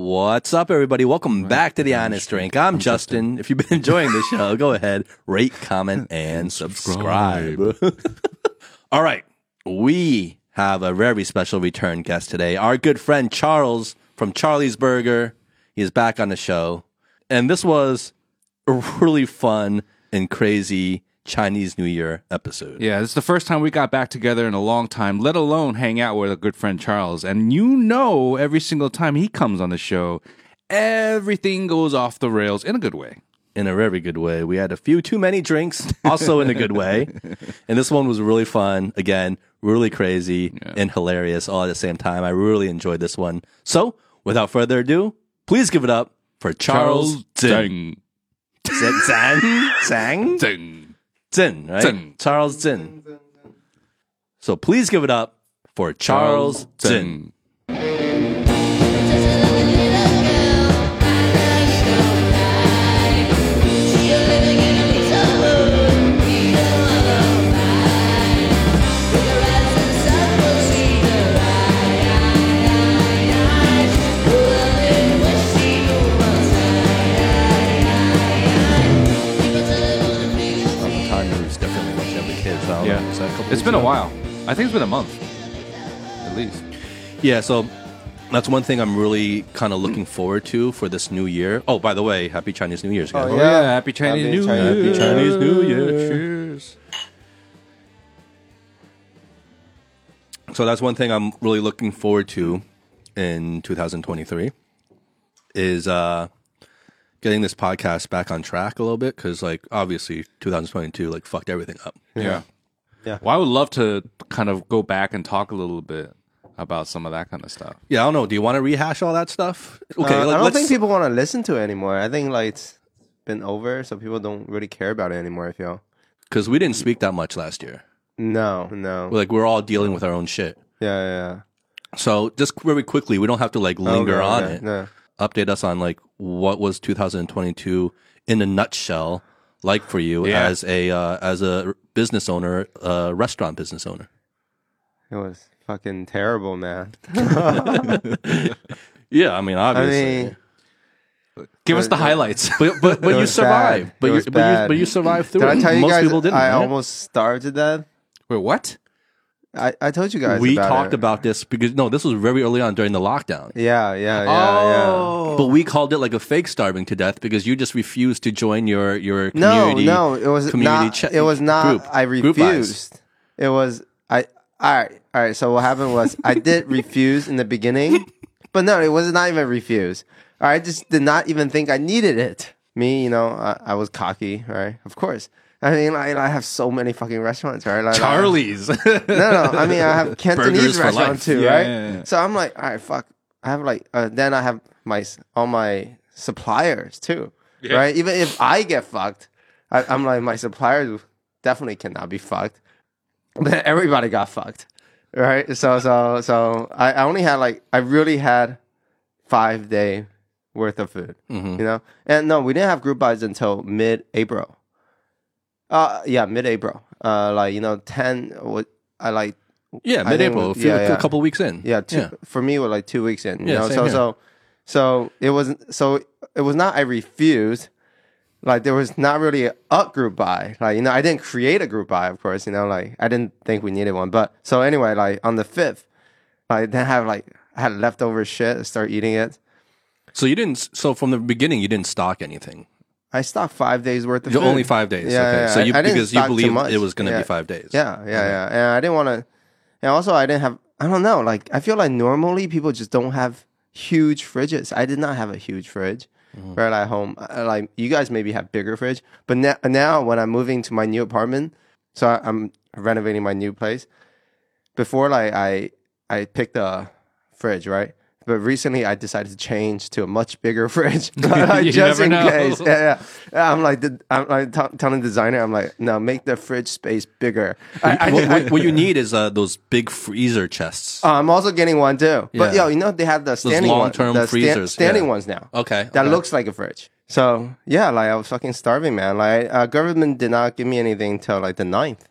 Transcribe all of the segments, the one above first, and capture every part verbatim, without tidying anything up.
What's up, everybody? Welcome back to The Honest Drink. I'm Justin. If you've been enjoying the show, go ahead, rate, comment, and subscribe. All right. We have a very special return guest today. Our good friend Charles from Charlie's Burger. He is back on the show. And this was a really fun and crazy Chinese New Year episode. Yeah, this is the first time we got back together in a long time, let alone hang out with a good friend Charles. And you know, every single time he comes on the show, everything goes off the rails in a good way. In a very good way. We had a few too many drinks, also in a good way. And this one was really fun. Again, really crazy yeah. and hilarious all at the same time. I really enjoyed this one. So, without further ado, please give it up for Charles, Charles Zhang. Zhang? Zhang? Zhang. Zin, right? Zin. Charles Zin. So please give it up for Charles, Charles Zin. It's been a while. I think it's been a month, at least. Yeah, so that's one thing I'm really kind of looking forward to for this new year. Oh, by the way, happy Chinese New Year's, guys. Oh, yeah, happy Chinese happy New Chinese Year. Happy Chinese New Year. Cheers. So that's one thing I'm really looking forward to in two thousand twenty-three is uh, getting this podcast back on track a little bit because, like, obviously two thousand twenty-two, like, fucked everything up. Yeah. yeah. Yeah. Well, I would love to kind of go back and talk a little bit about some of that kind of stuff. Yeah, I don't know. Do you want to rehash all that stuff? Okay, uh, like, I don't let's... think people want to listen to it anymore. I think like it's been over, so people don't really care about it anymore, I feel. Because we didn't speak that much last year. No, no. Like, we're all dealing with our own shit. Yeah, yeah, yeah. So just very quickly, we don't have to like linger okay, on okay, it. No. Update us on like what was two thousand twenty-two in a nutshell like for you yeah. as a uh, as a business owner, uh, restaurant business owner. It was fucking terrible, man. Yeah, I mean, obviously. I mean, give us the highlights. But but, but you survived. Bad. But you but you but you survived through Did it. I tell you Most guys people didn't. I right? almost starved to death? Wait, what? I, I told you guys we about talked it. about this because no, this was very early on during the lockdown. Yeah, yeah, yeah, oh. yeah. But we called it like a fake starving to death because you just refused to join your your No, community. no, it was community not. ch- It was not. Group, I group refused. buys. It was I. All right, all right. So what happened was I did refuse in the beginning, but no, it was not even refuse. I just did not even think I needed it. Me, you know, I, I was cocky, right? Of course. I mean, I, I have so many fucking restaurants, right? Like, Charlie's. I, no, no. I mean, I have Cantonese restaurant life. too, yeah, right? Yeah, yeah. So I'm like, all right, fuck. I have like, uh, then I have my all my suppliers too, Yeah. right? Even if I get fucked, I, I'm like, my suppliers definitely cannot be fucked. But everybody got fucked, right? So, so, so I, I only had like, I really had five day worth of food, Mm-hmm. you know? And no, we didn't have group buys until mid-April. Uh, yeah, mid-April. Uh, like, you know, ten, what I like. Yeah, I mid-April. think- a, yeah, few, yeah. a couple weeks in. Yeah, two, yeah. for me, it was like two weeks in. You Yeah, know? same So, here. so, so it wasn't, so it was not I refused. Like, there was not really a group buy. Like, you know, I didn't create a group buy, of course, you know, like, I didn't think we needed one. But, so anyway, like, on the fifth, like, then I have, like, I had leftover shit, I started eating it. So you didn't. So from the beginning, you didn't stock anything. I stocked five days worth of You're food. only five days. Yeah, okay. yeah, So I- you I didn't because you stock too believed much. it was going to Yeah. be five days. Yeah, yeah, yeah. And I didn't want to, and also I didn't have, I don't know, like, I feel like normally people just don't have huge fridges. I did not have a huge fridge Mm-hmm. right at home. I- Like, you guys maybe have bigger fridge, but now, now when I'm moving to my new apartment, so I, I'm renovating my new place, before, like, I, I picked a fridge, right? But recently, I decided to change to a much bigger fridge, like, You just never in know. case. Yeah, yeah. Yeah, I'm like, the, I'm like t- telling the designer, I'm like, no, make the fridge space bigger. I, I, what, I, what, what you need is uh, those big freezer chests. uh, I'm also getting one too. But Yeah. yo, you know they have the standing ones, long-term the sta- freezers, standing yeah. ones now. Okay, that okay. looks like a fridge. So yeah, like I was fucking starving, man. Like uh, government did not give me anything till like the ninth.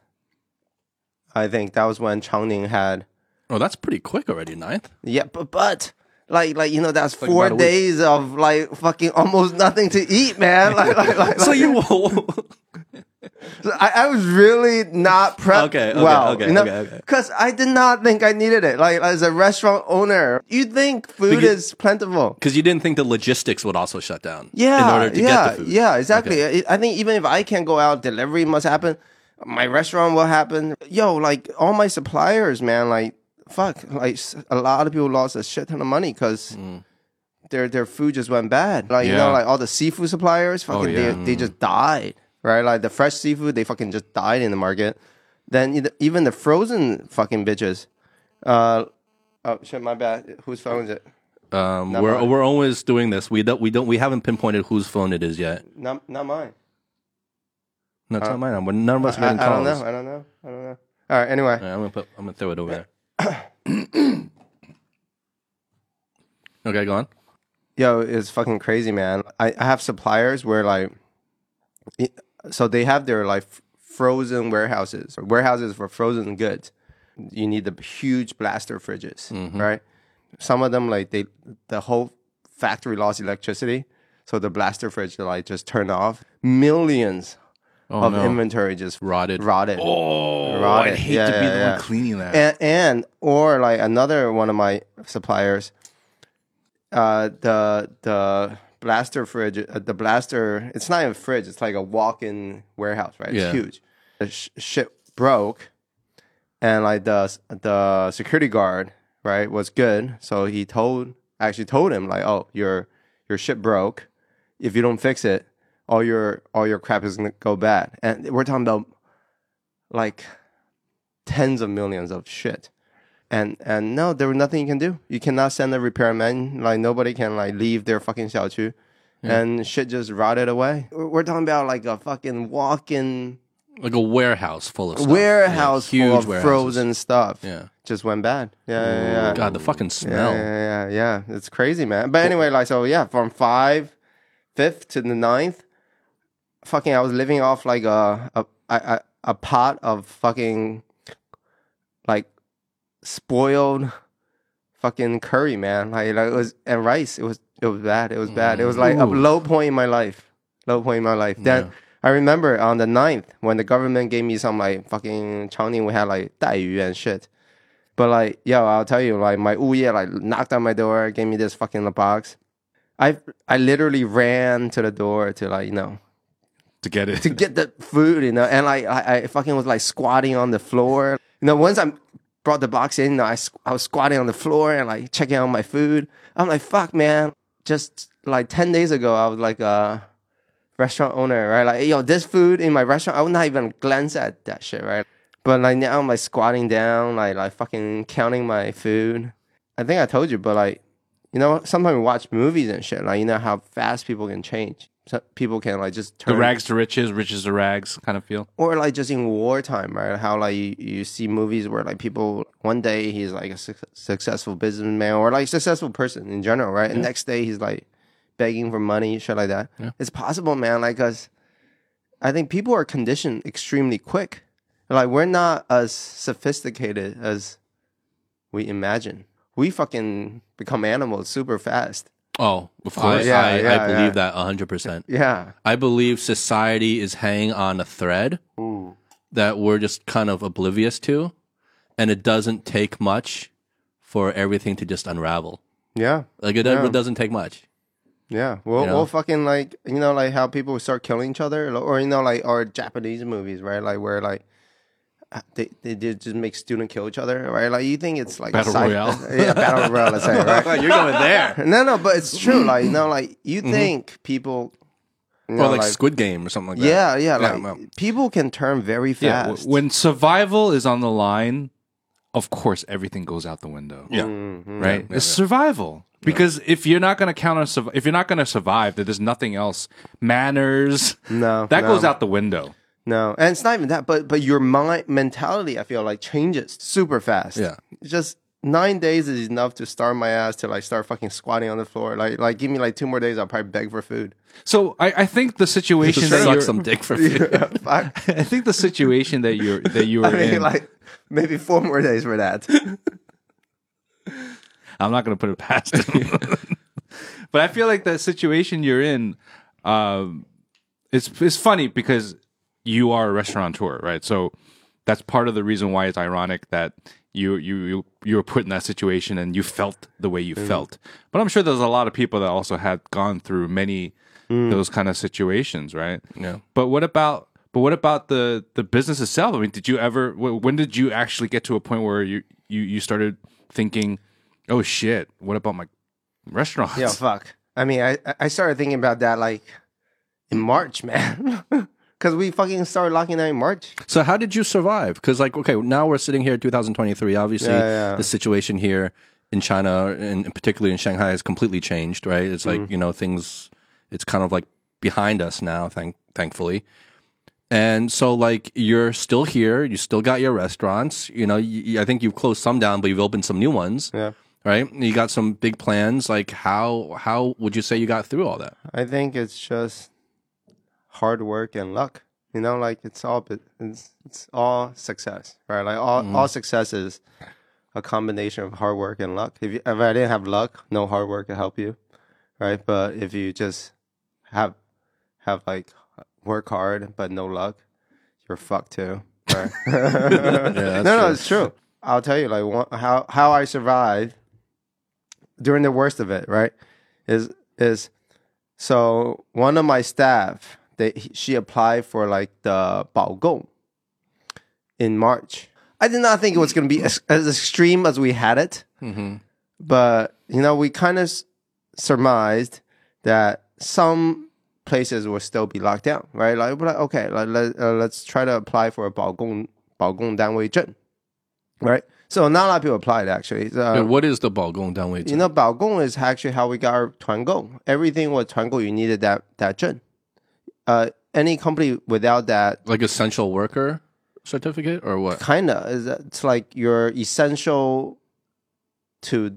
I think that was when Changning had. Oh, that's pretty quick already. Ninth. Yeah, but but Like, like you know, that's Like four about a week. days of like fucking almost nothing to eat, man. Like, like, like, So like- you I, I was really not prepped Okay, okay, well, okay, you know, okay, okay. because I did not think I needed it. Like as a restaurant owner, you think food Because- is plentiful. because you didn't think the logistics would also shut down. Yeah, in order to yeah, get the food. yeah, exactly. I I think even if I can't go out, delivery must happen. My restaurant will happen. Yo, like all my suppliers, man, like fuck, like s- a lot of people lost a shit ton of money because Mm. their their food just went bad. Like you know, Yeah. like all the seafood suppliers, fucking yeah. they they just died. Right, like the fresh seafood, they fucking just died in the market. Then e- even the frozen fucking bitches. Uh, oh shit, my bad. Whose phone is it? Um, Not we're mine. we're always doing this. We don't we don't we haven't pinpointed whose phone it is yet. Not not mine. No, it's not mine. We're- None of us are I, getting I don't calls. know. I don't know. I don't know. All right. Anyway, All right, I'm gonna put. I'm gonna throw it over there. Okay, go on. yo, it's fucking crazy, man. I, I have suppliers where like, it- so they have their like f- frozen warehouses, or warehouses for frozen goods. You need the huge blaster fridges, Mm-hmm. right? Some of them like they the whole factory lost electricity, so the blaster fridge like just turned off. Millions Oh, of no. inventory just Rotted. rotted. Oh, Rotted. I'd hate Yeah, to be yeah, the yeah. one cleaning that. and, and or like another one of my suppliers, uh, the the blaster fridge, uh, the blaster. It's not even a fridge. It's like a walk-in warehouse, right? Yeah. It's huge. The sh- shit broke, and like the the security guard, right, was good. So he told, actually told him like, oh, your your shit broke. If you don't fix it, all your all your crap is gonna go bad. And we're talking about like tens of millions of shit. And and no, there was nothing you can do. You cannot send a repairman. Like nobody can like leave their fucking xiaoqu. And shit just rotted away. We're we're talking about like a fucking walk-in Like a warehouse full of stuff. warehouse Yeah, full huge of warehouses. frozen stuff. Yeah. Just went bad. Yeah, yeah, yeah. God, the fucking Yeah, smell. yeah, yeah, yeah. It's crazy, man. But anyway, like, so yeah, from five, fifth to the ninth, fucking, I was living off like a a a, a pot of fucking like spoiled fucking curry, man. Like, like it was and rice. It was it was bad. It was bad. It was like a Ooh. low point in my life. Low point in my life. Then Yeah. I remember on the ninth when the government gave me some like fucking Changning, we had like 带鱼 and shit. But like, yo, I'll tell you, like my 物业 like knocked on my door, gave me this fucking box. I I literally ran to the door to like, you know, to get it. to get the food, you know, and like I, I fucking was like squatting on the floor. You know, once I brought the box in, you know, I, squ- I was squatting on the floor and like checking out my food. I'm like, fuck, man. Just like ten days ago, I was like a restaurant owner, right? Like, yo, this food in my restaurant, I would not even glance at that shit, right? But like now I'm like squatting down, like like fucking counting my food. I think I told you, but like, you know, sometimes we watch movies and shit. Like, you know how fast people can change. So people can like just turn The rags to riches, riches to rags kind of feel. or like just in wartime, right? How like you, you see movies where like people one day he's like a su- successful businessman or like successful person in general, right? And next day he's like begging for money, shit like that. Yeah. It's possible, man. Like, cause I think people are conditioned extremely quick. Like we're not as sophisticated as we imagine. We fucking become animals super fast. Oh, of course. yeah, I, yeah, I believe yeah. that one hundred percent. Yeah. I believe society is hanging on a thread that we're just kind of oblivious to, and it doesn't take much for everything to just unravel. Yeah. Like it, Yeah. it doesn't take much. Yeah, we'll You know? we'll fucking like you know like how people start killing each other, or you know like or Japanese movies, right? Like where like uh, they they did just make student kill each other, right? Like you think it's like Battle a sci- Royale. yeah, battle royale, let's say, right? You're going there. No, no, but it's true. Like you know, like you think people, you know, Or like, Squid Game or something like that. yeah, yeah, like well. people can turn very Yeah, fast. w- when survival is on the line, of course everything goes out the window. Yeah. Mm-hmm. Right? yeah, It's yeah. survival. Because if you're not going to count on surv- if you're not going to survive, then there's nothing else. Manners, no, that no, goes out the window. No, and it's not even that, but but your mind mentality, I feel like changes super fast. Yeah. just nine days is enough to starve my ass to like start fucking squatting on the floor. Like like give me like two more days, I'll probably beg for food. So I, I think the situation that Suck you're, some dick for food. Fuck. I think the situation that you're that you I are mean, in. like maybe four more days for that. I'm not going to put it past him. But I feel like the situation you're in, um, it's it's funny because you are a restaurateur, right? So that's part of the reason why it's ironic that you you you, you were put in that situation and you felt the way you mm. felt. But I'm sure there's a lot of people that also had gone through many mm. those kind of situations, right? Yeah. But what about but what about the the business itself? I mean, did you ever? When did you actually get to a point where you you, you started thinking, oh shit, what about my restaurants? Yeah, fuck. I mean, I I started thinking about that like in March, man. Because we fucking started locking down in March. So how did you survive? Because like, okay, now we're sitting here in two thousand twenty-three. Obviously, yeah, yeah. the situation here in China, and particularly in Shanghai, has completely changed, right? It's like, mm. you know, things, it's kind of like behind us now, thank, thankfully. And so like, you're still here. You still got your restaurants. You know, you, I think you've closed some down, but you've opened some new ones. Yeah. Right? You got some big plans. Like how, how would you say you got through all that? I think it's just hard work and luck, you know, like it's all it's it's all success, right? Like all mm-hmm. all success is a combination of hard work and luck. If you, if I didn't have luck, no hard work could help you, right? But if you just have have like work hard but no luck, you're fucked too, right? yeah, no, no, true. It's true. I'll tell you, like one, how how I survived during the worst of it, right? Is is so one of my staff. They, she applied for like the Baogong in March. I did not think it was going to be as, as extreme as we had it. Mm-hmm. But, you know, we kind of surmised that some places will still be locked down, right? Like, we're like okay, like, let, uh, let's try to apply for a Baogong, Baogong Danwei Zhen, right? So not a lot of people applied, actually. Uh, what is the Baogong Danwei Zhen? You know, Baogong is actually how we got our Tuangong. Everything with Tuangong, you needed that, that Zhen. Uh, any company without that, like essential worker certificate or what? Kinda is it's like you're essential to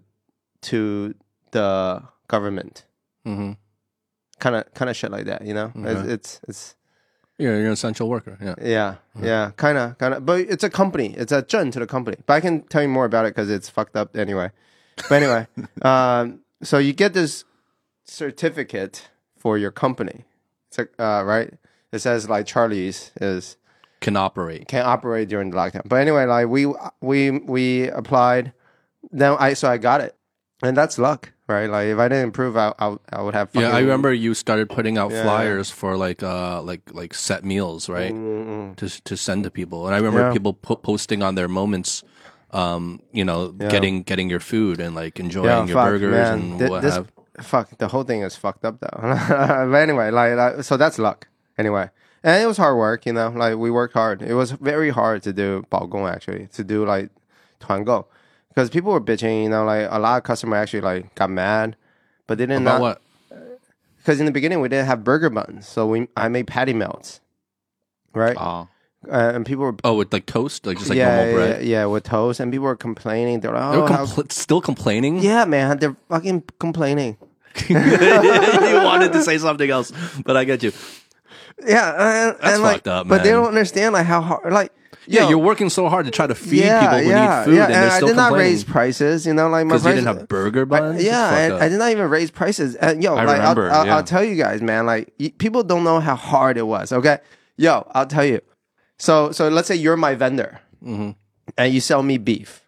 to the government. Mm-hmm. Kind of kind of shit like that, you know. Okay. It's, it's it's yeah, you're an essential worker. Yeah, yeah, mm-hmm. yeah, kind of kind of. But it's a company. It's a zhen to the company. But I can tell you more about it because it's fucked up anyway. But anyway, um, so you get this certificate for your company. It's like, uh, right? It says like Charlie's is can operate can operate during the lockdown. But anyway, like we we we applied. Then I so I got it, and that's luck, right? Like if I didn't improve, I I, I would have. Yeah, I remember you started putting out yeah, flyers yeah. for like uh like like set meals, right? Mm-hmm. To to send to people, and I remember yeah. people po- posting on their moments. Um, you know, yeah. getting getting your food and like enjoying yeah, your fuck, burgers man. and Th- what this, have. Fuck, the whole thing is fucked up though. But anyway, like, like, so that's luck. Anyway, and it was hard work, you know. Like we worked hard. It was very hard to do Baogong actually, to do like Tuangou, because people were bitching. You know, like a lot of customers actually like got mad, but they didn't. About not, what? Because in the beginning we didn't have burger buns, so we I made patty melts, right? Oh. Uh, and people were oh with like toast, like just like yeah, normal bread. Yeah, yeah, with toast, and people were complaining. They're like, oh, they were how... compl- still complaining. Yeah, man, they're fucking complaining. You wanted to say something else, but I get you. Yeah, and, that's and fucked like, up, man. But they don't understand like how hard. Like, yeah, yo, you're working so hard to try to feed yeah, people who yeah, need food, yeah, and, and they're I still did not complaining. raise prices. You know, like my because you prices, didn't have burger buns. I, yeah, and I did not even raise prices. And yo, I like remember, I'll, I'll, yeah. I'll tell you guys, man. Like y- people don't know how hard it was. Okay, yo, I'll tell you. So, so let's say you're my vendor, mm-hmm. and you sell me beef,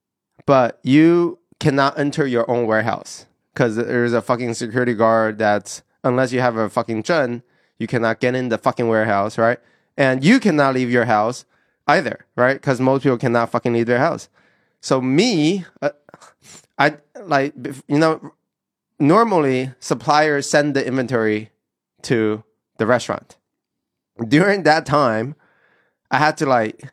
but you cannot enter your own warehouse because there's a fucking security guard that's unless you have a fucking zhen, you cannot get in the fucking warehouse, right? And you cannot leave your house either, right? Because most people cannot fucking leave their house. So me, uh, I like, you know, normally suppliers send the inventory to the restaurant. During that time, I had to like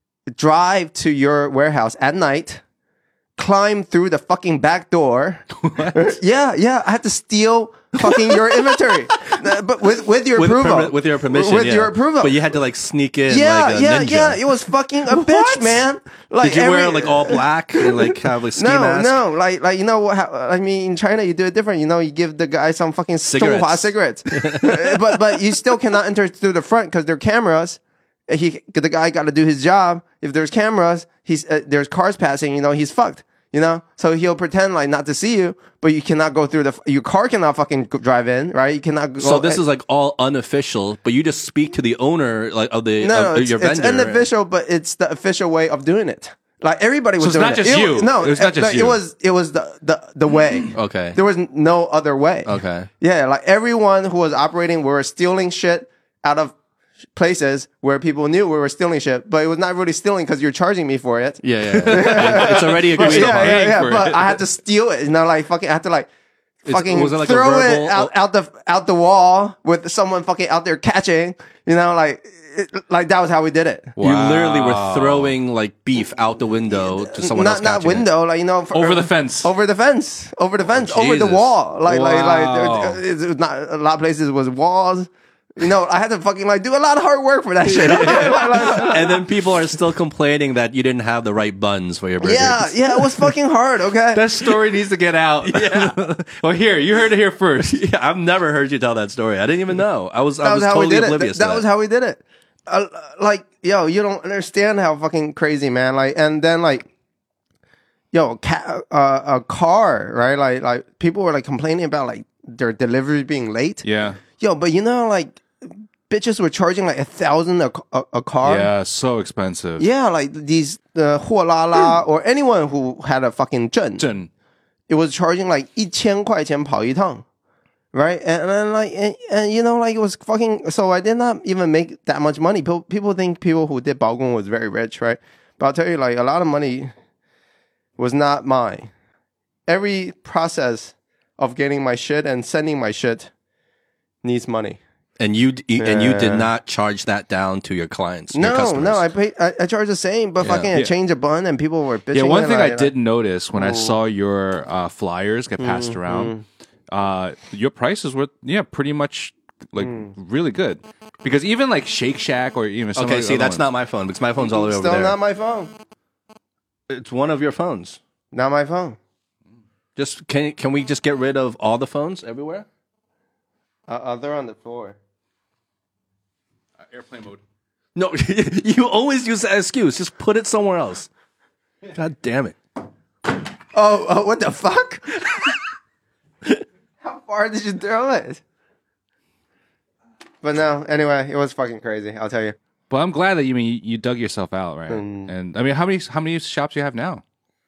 drive to your warehouse at night, climb through the fucking back door. What? Yeah, yeah. I had to steal fucking your inventory, uh, but with with your with approval, permi- with your permission, with yeah. your approval. But you had to like sneak in, yeah, like a yeah, ninja. yeah. It was fucking a What? bitch, man. Like did you every, wear like all black and like have a ski no, mask? no, like like you know what? How, I mean, in China you do it different. You know, you give the guy some fucking Cigarettes. cigarettes, but but you still cannot enter through the front because there are cameras. He the guy got to do his job. If there's cameras, he's uh, there's cars passing. You know, he's fucked. You know, so he'll pretend like not to see you, but you cannot go through the your car cannot fucking go- drive in, right? You cannot. Go, So this is like all unofficial, but you just speak to the owner like of the no, of no, it's, your it's vendor. unofficial, but it's the official way of doing it. Like everybody was So it's doing not it. just it you. Was, no, It was not just like, you. It was it was the the the way. Okay. There was no other way. Okay. Yeah, like everyone who was operating were stealing shit out of places where people knew we were stealing shit, but it was not really stealing because you're charging me for it. Yeah, yeah. yeah. It's already But agreed yeah, upon. yeah, yeah. for But it. I had to steal it. You know, like fucking, I had to like It's- fucking was it like a throw verbal- it out, out the out the wall with someone fucking out there catching. You know, like it, like that was how we did it. You literally were Wow. throwing like beef out the window to someone not else. not catching it. window, like you know, for, Over the fence. over the fence, over the fence, over the Jesus. wall. Like like like Wow. there- it was not a lot of places was walls. You know, I had to fucking like do a lot of hard work for that shit. Like, like, And then people are still complaining that you didn't have the right buns for your burgers. yeah, yeah, it was fucking hard. Okay. That story needs to get out. Yeah. Well, here, you heard it here first. Yeah, I've never heard you tell that story. I didn't even know. I was I That was, was how totally we did it. oblivious. That, to that was how we did it. Uh, like, yo, you don't understand how fucking crazy, man. Like, and then like, yo, ca- uh, a car, right? Like, like people were like complaining about like their delivery being late. Yeah. Yo, but you know, like, bitches were charging like a thousand a, a, a car. Yeah, so expensive. Yeah, like these the uh, La La or anyone who had a fucking 证, 真 it was charging like 一千块钱跑一趟. Right, and then like, and, and you know, like it was fucking. So I did not even make that much money. People, people think people who did baogon was very rich, right? But I'll tell you, like a lot of money was not mine. Every process of getting my shit and sending my shit needs money. And you d- and you did Yeah. not charge that down to your clients. your No, customers. no, I pay. I, I charge the same, but Yeah. fucking I Yeah. changed a bun, and people were bitching. Yeah, one and thing like, I did notice when I saw your uh, flyers get passed around, uh, your prices were yeah pretty much like really good. Because even like Shake Shack or even some Okay, of the see, other that's ones- not my phone because my phone's all the way over Still there. not my phone. It's one of your phones. Not my phone. Just can can we just get rid of all the phones everywhere? Uh, uh, they're on the floor. airplane mode. No, you always use that excuse. Just put it somewhere else. God damn it. Oh, oh what the fuck? How far did you throw it? But no, anyway, it was fucking crazy. I'll tell you. But I'm glad that you mean you, you dug yourself out, right? And I mean, how many how many shops do you have now?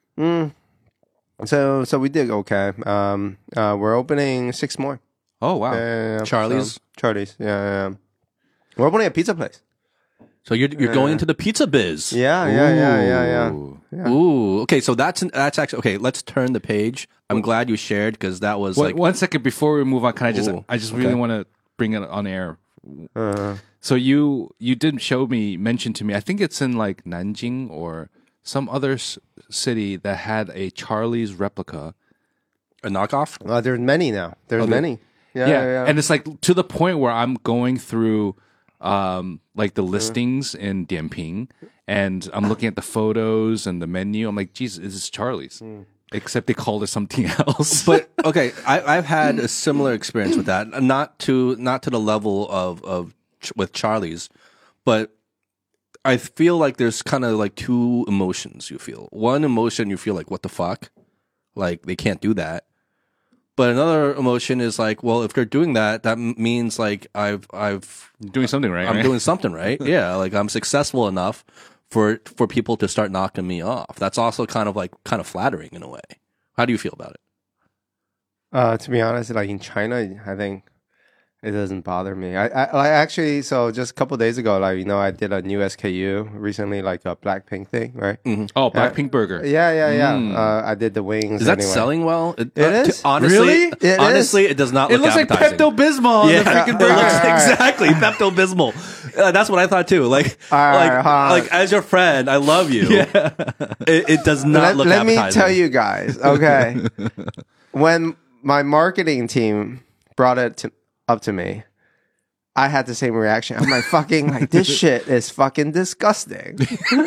So, so we did okay. Um, uh, we're opening six more. Oh wow, Yeah, yeah, yeah. Charlie's? So, Charlie's. Yeah, yeah, yeah. We're opening a pizza place. So you're you're going into the pizza biz. Yeah, yeah, yeah, yeah, yeah. Ooh. Yeah. Ooh. Okay, so that's that's actually okay. Let's turn the page. I'm glad you shared because that was One, like one second before we move on, can I just Ooh, I just okay. really want to bring it on air. Uh, So you you did show me mention to me. I think it's in like Nanjing or some other s- city that had a Charlie's replica. a knockoff. uh, there's many now. There's many. Yeah, Yeah, yeah, yeah. and it's like to the point where I'm going through um like the listings in Dianping, and I'm looking at the photos and the menu. I'm like, Jesus, this is Charlie's. Except they called it something else. But okay, I, I've had a similar experience with that. Not to not to the level of of ch- with Charlie's, but I feel like there's kind of like two emotions you feel. One emotion you feel like what the fuck, like they can't do that. But another emotion is like, well, if they're doing that, that m- means like I've I've doing something right. I'm right? doing something right. Yeah, like I'm successful enough for for people to start knocking me off. That's also kind of like kind of flattering in a way. How do you feel about it? Uh, to be honest, like in China, I think it doesn't bother me. I, I like actually. So just a couple days ago, like you know, I did a new S K U recently, like a Blackpink thing, right? Oh, Blackpink Burger. Yeah, yeah, yeah. Mm. Uh, I did the wings. Is that anyway. selling well? It, It uh, is? to- honestly, Really? It honestly, it does not It look looks like appetizing. Pepto Bismol. Yeah, The freaking it burger. looks Alright, alright. exactly Pepto Bismol. Uh, that's what I thought too. Like, Alright, like, hold on. like as your friend, I love you. Yeah. It, it does not Let, look let me appetizing. tell you guys, okay. When my marketing team brought it to, up to me, I had the same reaction. I'm like, fucking, like, this shit is fucking disgusting.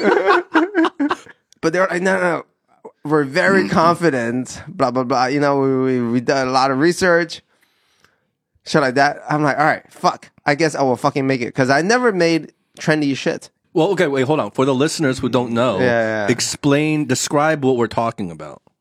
But they're like, no, no, no. We're very confident, blah, blah, blah. You know, we, we, we did a lot of research. Shit like that. I'm like, all right, fuck. I guess I will fucking make it. Because I never made trendy shit. Well, okay, wait, hold on. For the listeners who don't know, Yeah, yeah. explain, describe what we're talking about.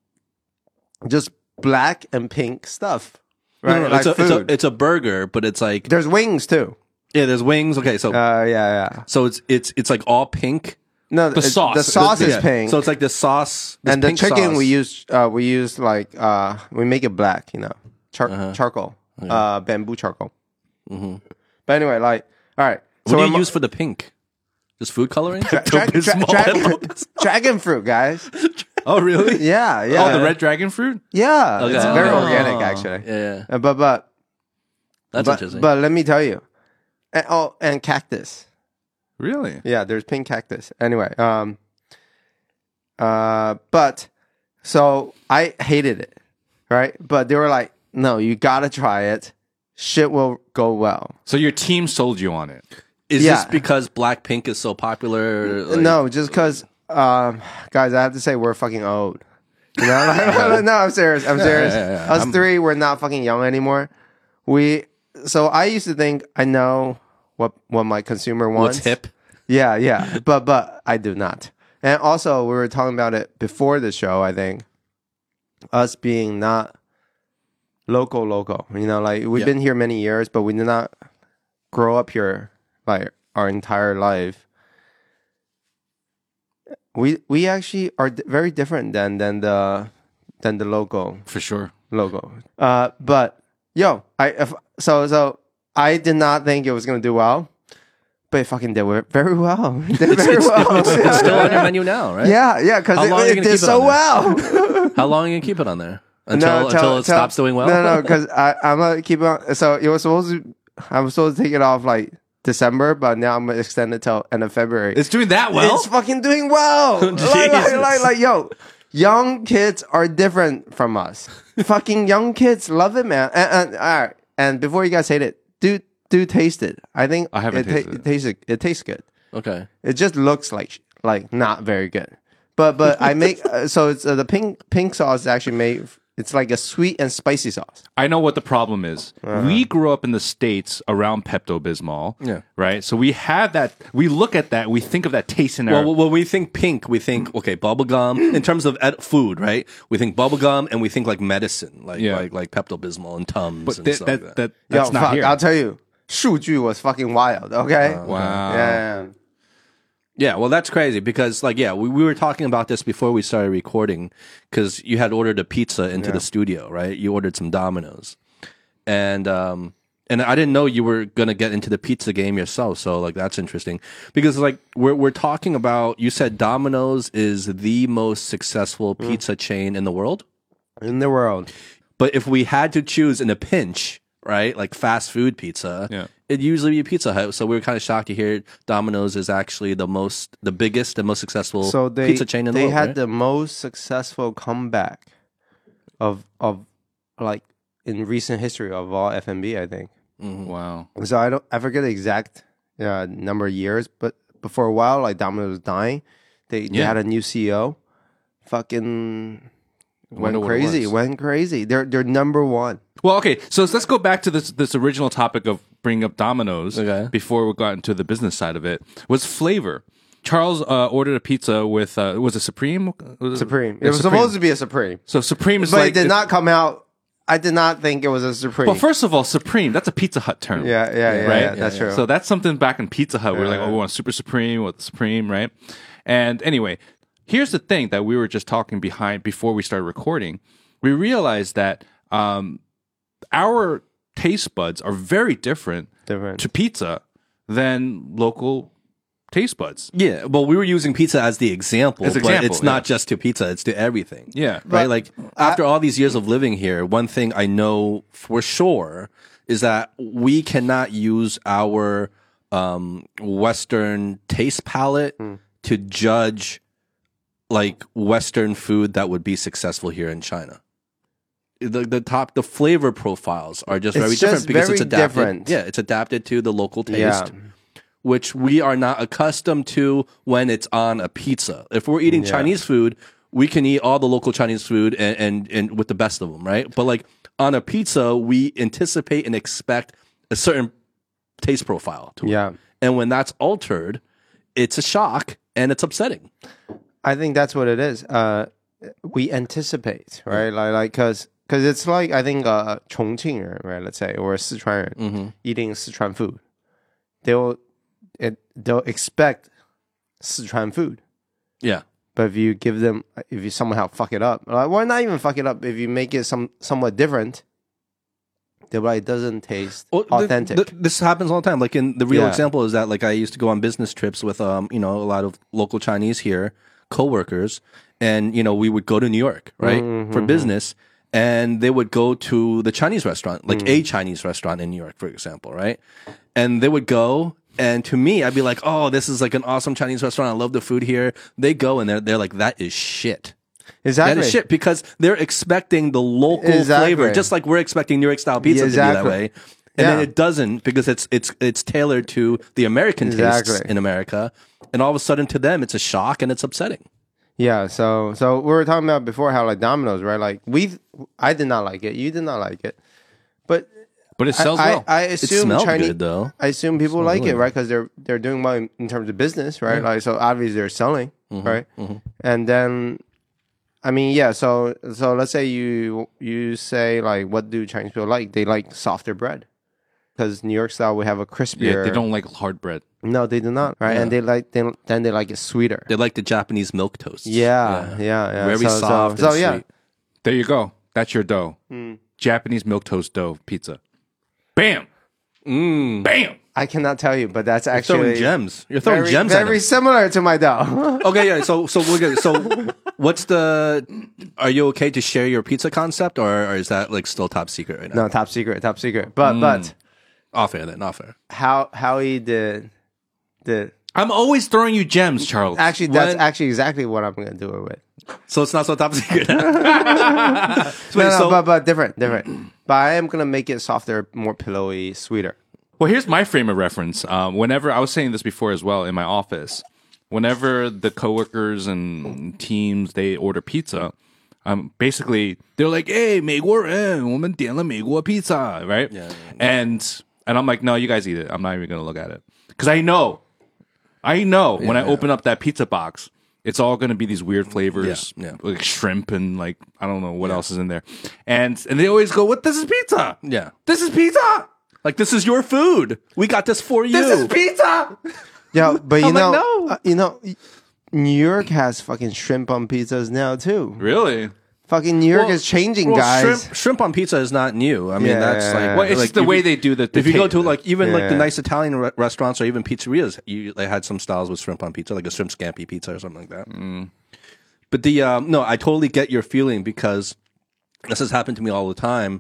just black and pink stuff. No, Right? no, no, Like it's, a, it's, a, food. it's a burger, but it's like There's wings too. yeah, there's wings. Okay, so Uh, yeah, yeah. so it's it's it's like all pink. No, The it's- sauce. The sauce is Yeah. pink. So it's like the sauce this and the pink chicken sauce. we use, uh, we use like uh, we make it black. You know, Char- Uh-huh. charcoal, uh, bamboo charcoal. Mm-hmm. But anyway, like, all right. What So do I'm- you use for the pink? Just food coloring? Dra- dra- dra- Small dragon, envelopes. dragon fruit, guys. Oh, really? Yeah, yeah, Oh, the red dragon fruit? yeah. Okay. It's very Oh. organic, actually. Yeah, Uh, but but that's but, interesting. but let me tell you, and, oh, and cactus. Really? Yeah, there's pink cactus. Anyway, um, uh, but so I hated it, right? But they were like, "No, you gotta try it. Shit will go well." So your team sold you on it. Is yeah. this because Blackpink is so popular? Like- No, just because, um, guys, I have to say we're fucking old. You know, like, no, I'm serious. I'm serious. yeah, yeah. Us I'm- three, we're not fucking young anymore. We so I used to think I know what what my consumer wants. What's hip? Yeah, yeah, but but I do not. And also, we were talking about it before the show. I think us being not local, local. You know, like we've Yeah. been here many years, but we did not grow up here like our entire life. We we actually are d- very different than than the than the local For sure. logo. Uh, but yo, I if, so so I did not think it was gonna do well, but it fucking did very well. It did very well. It's still on your menu now, right? Yeah, yeah, because How it, long are you it gonna did keep it so on well. How long are you gonna keep it on there? Until No, tell- until it tell- stops doing well? No, no, because I'm gonna keep it on. So it was supposed to. I was supposed to take it off like December, but now I'm gonna extend it till end of February. It's doing that well? It's fucking doing well. like, like, Jesus. like, like, yo, young kids are different from us. Fucking young kids love it, man. And, and all right, and before you guys hate it, do do taste it. I think I haven't it, tasted it. it tastes it tastes good. Okay. It just looks like like not very good. But but I make uh, so it's uh, the pink pink sauce is actually made. It's like a sweet and spicy sauce. I know what the problem is. We grew up in the States around Pepto-Bismol. Yeah. Right? So we have that, we look at that, we think of that taste in our... Well, when we think pink, we think okay, bubble gum. In terms of ed- food, right? We think bubble gum, and we think like medicine, like Yeah. like like Pepto Bismol and Tums but and that, stuff that, like that. that, that's Yo, not fuck, here. I'll tell you, 数据 was fucking wild. Okay. Wow. Yeah. Yeah, well, that's crazy because, like, yeah, we, we were talking about this before we started recording because you had ordered a pizza into the studio, right? You ordered some Domino's, and um, and I didn't know you were gonna get into the pizza game yourself. So, like, that's interesting because, like, we're we're talking about. You said Domino's is the most successful pizza chain in the world, In the world. but if we had to choose in a pinch, right, like fast food pizza, Yeah. it'd usually be Pizza Hut. So we were kind of shocked to hear Domino's is actually the most, the biggest, and most successful So they pizza chain in the they world. had right? the most successful comeback of of like in recent history of all F and B. I think. Wow. So I don't I forget the exact uh, number of years, but but for a while, like Domino's was dying. They they Yeah. had a new C E O. Fucking went Wonder what it crazy. was. Went crazy. They're they're number one. Well, okay, so let's go back to this this original topic of bringing up Domino's Okay. before we got into the business side of it. Was flavor. Charles uh, ordered a pizza with uh, was it Supreme? Was it- Supreme. Yeah, It was Supreme. supposed to be a Supreme, So Supreme is but like it did the- not come out. I did not think it was a Supreme. Well, first of all, Supreme, that's a Pizza Hut term. yeah, yeah, yeah, right? yeah, that's true. So that's something back in Pizza Hut. We're like, Yeah. oh, we want Super Supreme with Supreme, right? And anyway, here's the thing that we were just talking behind before we started recording. We realized that um, our taste buds are very different Different. to pizza than local taste buds. Yeah, well, we were using pizza as the example, As but example, it's not yeah. just to pizza; it's to everything. Yeah. right. Like after all these years of living here, one thing I know for sure is that we cannot use our um, Western taste palette to judge like Western food that would be successful here in China. The the top the flavor profiles are just It's very just different because very it's adapted. different. Yeah, it's adapted to the local taste. Yeah. Which we are not accustomed to when it's on a pizza. If we're eating Yeah. Chinese food, we can eat all the local Chinese food and, and, and with the best of them, right? But like on a pizza, we anticipate and expect a certain taste profile to it. Yeah. And when that's altered, it's a shock and it's upsetting. I think that's what it is. Uh, we anticipate, right? Like, like, cause, cause it's like I think uh, Chongqing, right? Let's say, or Sichuan Mm-hmm. eating Sichuan food, they'll it, they'll expect Sichuan food. Yeah. But if you give them, if you somehow fuck it up, like, well, not even fuck it up. If you make it some somewhat different, they're like, it doesn't taste Well, th- authentic. th- this happens all the time. Like in the real Yeah. example is that like I used to go on business trips with um you know a lot of local Chinese here, coworkers, and you know we would go to New York right Mm-hmm. for business, and they would go to the Chinese restaurant, like Mm. a Chinese restaurant in New York, for example, right? And they would go. And to me, I'd be like, "Oh, this is like an awesome Chinese restaurant. I love the food here." They go and they're they're like, "That is shit. exactly. That is shit," because they're expecting the local Exactly. flavor, just like we're expecting New York style pizza Yeah, to be that exactly. way. And then Yeah. it doesn't because it's it's it's tailored to the American tastes Exactly. in America, and all of a sudden to them it's a shock and it's upsetting. Yeah, so so we were talking about before how like Domino's, right? Like we, I did not like it. You did not like it, but But it I, sells I, well. I It assume smelled Chinese. good though. I assume people like really it, right? Because they're they're doing well in, in terms of business, right? Like so, obviously they're selling, Mm-hmm, right? And then, I mean, yeah. So so let's say you you say like, what do Chinese people like? They like softer bread, because New York style we have a crispier. yeah, they don't like hard bread. No, they do not, right? And they like they, then they like it sweeter. They like the Japanese milk toasts. Yeah, yeah, yeah. Very so, soft So, and so yeah, sweet. There you go. That's your dough. Hmm. Japanese milk toast dough pizza. Bam. Mm. Bam. I cannot tell you, but that's Throwing actually gems. You're throwing very, gems at very them. similar to my dough. Okay, yeah. So, so we're good. So, what's the? Are you okay to share your pizza concept, or, or is that like still top secret right now? No, top secret, top secret. But but Off air then. Off air. how how he did did I'm always throwing you gems, Charles. actually that's What? actually exactly what I'm gonna do it with. So it's not so top secret. No, no, so- but but different, different. But I am gonna make it softer, more pillowy, sweeter. Well, here's my frame of reference. Um, whenever I was saying this before as well in my office, whenever the coworkers and teams they order pizza, um, basically they're like, "Hey, 美国人，我们点了美国 pizza," right? Yeah, yeah, And and I'm like, "No, you guys eat it. I'm not even gonna look at it because I know, I know when I open up that pizza box." It's all going to be these weird flavors, Yeah, yeah. like shrimp and like I don't know what else is in there, and and they always go, "What? This is pizza? Yeah. This is pizza. Like, this is your food. We got this for you. This is pizza." Yeah, but you I'm like, know, no. uh, you know, New York has fucking shrimp on pizzas now too. Really? Fucking New York Well- is changing, well, guys. Shrimp, shrimp on pizza is not new. I mean, Yeah, that's yeah, like, yeah. Well, it's like just the if way you- they do the. the If you go taste. to like even like the Yeah. nice Italian re- restaurants or even pizzerias, you they had some styles with shrimp on pizza, like a shrimp scampi pizza or something like that. Mm. But the um, no, I totally get your feeling because this has happened to me all the time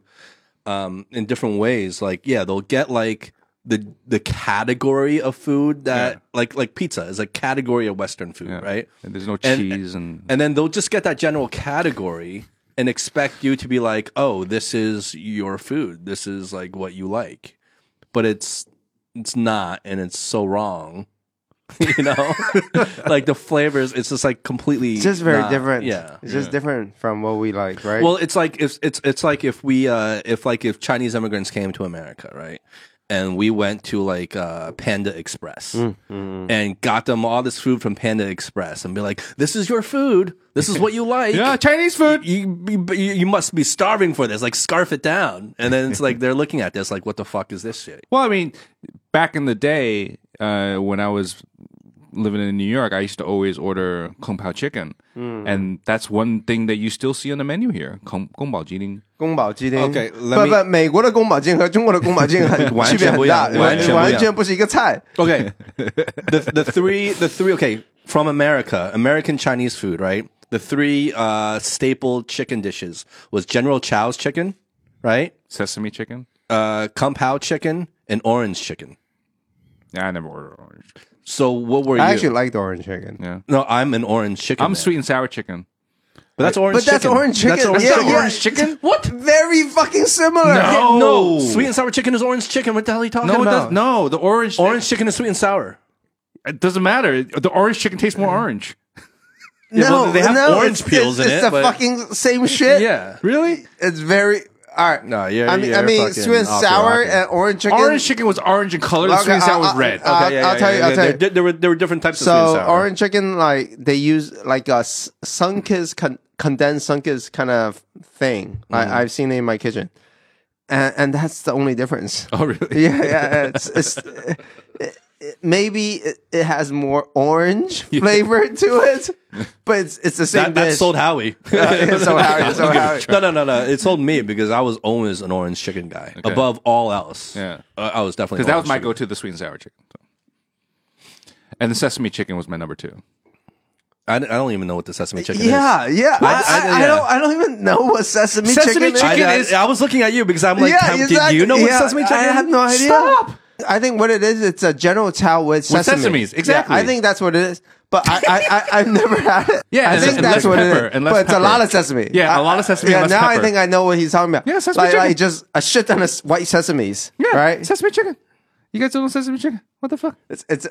um, in different ways. Like, yeah, they'll get like the the category of food that Yeah. like like pizza is a category of Western food, Yeah. right? And there's no And- cheese and, And then they'll just get that general category and expect you to be like, oh, this is your food. This is like what you like. But it's it's not, and it's so wrong. You know? Like the flavors, it's just like completely It's just very not- different. Yeah. It's just different from what we like, right? Well, it's like if it's it's like if we uh if like if Chinese immigrants came to America, right? And we went to like uh, Panda Express Mm, and got them all this food from Panda Express and be like, "This is your food. This is what you like. yeah, Chinese food. You, you you must be starving for this. Like scarf it down." And then it's like they're looking at this like, "What the fuck is this shit?" Well, I mean, back in the day uh, when I was living in New York, I used to always order kung pao chicken, and that's one thing that you still see on the menu here. Kung kung pao jiling. 宫保鸡丁 Okay, let 不 me- 不，美国的宫保鸡丁和中国的宫保鸡丁很完全区别很大， 不一样完全不一样完全不是一个菜。 Okay, the the three the three okay from America, American Chinese food, right? The three uh, staple chicken dishes was General Chow's chicken, right? Sesame chicken. Uh, Kung Pao chicken and orange chicken. Yeah, I never ordered orange. So what were you? I actually like the orange chicken. Yeah, no, I'm an orange chicken. I'm man. sweet and sour chicken. But that's orange But that's chicken. orange chicken. That's orange Yeah, chicken. yeah. Orange chicken? What? Very fucking similar. No. No, sweet and sour chicken is orange chicken. What the hell are you talking No, it about? does, no, the orange. Orange chicken is sweet and sour. It doesn't matter. The orange chicken tastes more orange. No, well, they have no, orange it's, peels it's, in it's it, the but- fucking same shit. Yeah. Really? It's very. all right. No, you're. I mean, you're I mean, fucking sweet and off the sour rocker. and orange chicken. Orange chicken was orange in color. The Okay, sweet and sour was I'll- red. I'll- Okay, yeah, I'll yeah, tell you, yeah, I'll yeah. tell you. There, there were there were different types of sweet and So sour. orange chicken, like they use like a s- Sunkist con- condensed Sunkist kind of thing. Mm-hmm. I, I've seen it in my kitchen, and, and that's the only difference. Oh, really? Yeah, yeah. It's, it's it, it, maybe it, it has more orange flavor to it, but it's it's the same that, that dish. sold Howie. Uh, so Howie, so Howie. no, no, no, no. It sold me because I was always an orange chicken guy above all else. Yeah. uh, I was definitely Because that was orange my chicken. go-to, the sweet and sour chicken. So. And the sesame chicken was my number two. I, I don't even know what the sesame chicken is. Yeah, yeah. I, I- I, I- I yeah. don't. I don't even know what sesame, Sesame chicken, chicken I, is. is- I, I was looking at you because I'm like, Yeah, Tam, exactly. did you know what Yeah, sesame chicken I is? have no idea. Stop! I think what it is, it's a General Tao with sesame. sesames, Yeah, exactly. I think that's what it is. But I, I, I, I've never had it. Yeah, I and- think and that's less what pepper, it is. and less but it's a pepper. lot of sesame. Yeah, a a lot of sesame Yeah, and less now I pepper. think I know what he's talking about. Yeah, sesame like, chicken. like just a shit ton of s- white sesames. Yeah, right. sesame chicken. You guys don't know sesame chicken? What the fuck? It's it's.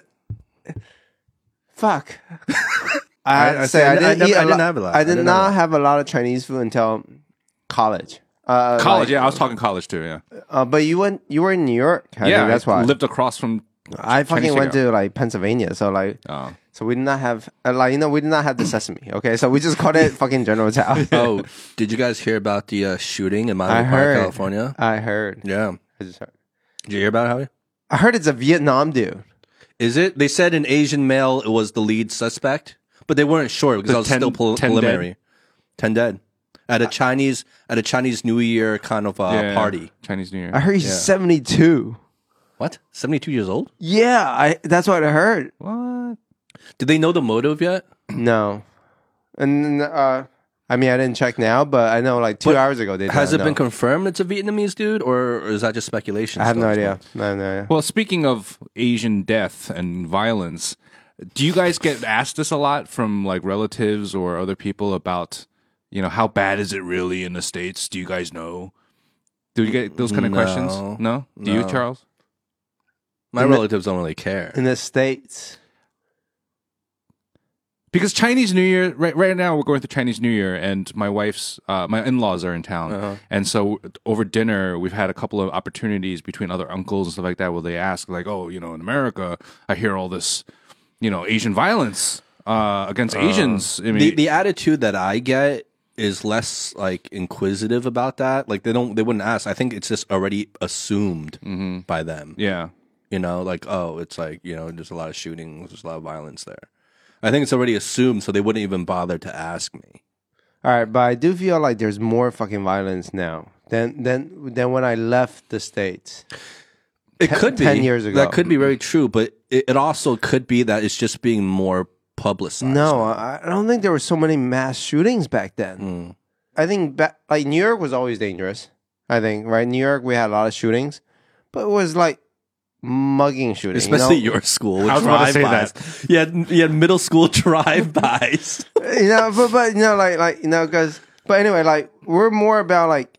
Fuck. I have I- I to say said- I I didn't, never- eat I a didn't lot- have a lot. I I did didn't not have a- have a lot of Chinese food until college. Uh, College, like, yeah. I was talking college too, yeah. Uh, but you went. You were in New York. I yeah, think that's I why. lived across from... I fucking Chinese went takeout. to like Pennsylvania, so like, Oh. so we did not have uh, like you know we did not have the sesame. Okay, so we just called it fucking General Tao. Oh, did you guys hear about the uh, shooting in I Miami Park, heard. California? I heard. Yeah. I just heard. Did you hear about it, Howie? I heard it's a Vietnam dude. Is it? They said an Asian male was the lead suspect, but they weren't sure because The I was ten- still pre- ten preliminary. dead? Ten dead at a Chinese at a Chinese New Year kind of uh, Yeah, party. Chinese New Year. I heard he's seventy-two. What? Seventy-two years old? Yeah, I. That's what I heard. What? Did they know the motive yet? No, and uh, I mean I didn't check now, but I know like two But hours ago they. Has did it not been know. confirmed it's a Vietnamese dude, or is that just speculation? I have still no at this idea. point? No, no idea. Well, speaking of Asian death and violence, do you guys get asked this a lot from like relatives or other people about, you know, how bad is it really in the States? Do you guys know? Do you get those kind of No. questions? No? Do you, No. Charles? My In the- relatives don't really care. In the States, Because Chinese New Year, right, right now we're going through Chinese New Year, and my wife's, uh, my in-laws are in town, Uh-huh. and so over dinner we've had a couple of opportunities between other uncles and stuff like that, where they ask like, "Oh, you know, in America, I hear all this, you know, Asian violence uh, against Asians." I mean, the the attitude that I get is less like inquisitive about that. Like they don't they wouldn't ask. I think it's just already assumed by them. yeah, You know, like oh, it's like you know, there's a lot of shootings, there's a lot of violence there. I think it's already assumed, so they wouldn't even bother to ask me. all right, but I do feel like there's more fucking violence now than than than when I left the States. It Ten- could be ten years ago. That could be very true, but it, it also could be that it's just being more publicized. No, I I don't think there were so many mass shootings back then. Mm. I think back, like New York was always dangerous. I think right, New York we had a lot of shootings, but it was like mugging shootings, Especially you know? your school with I was about to say drive-bys. You had, you had middle school drive-bys. you know, but but you know, like like you know, because but anyway, like we're more about like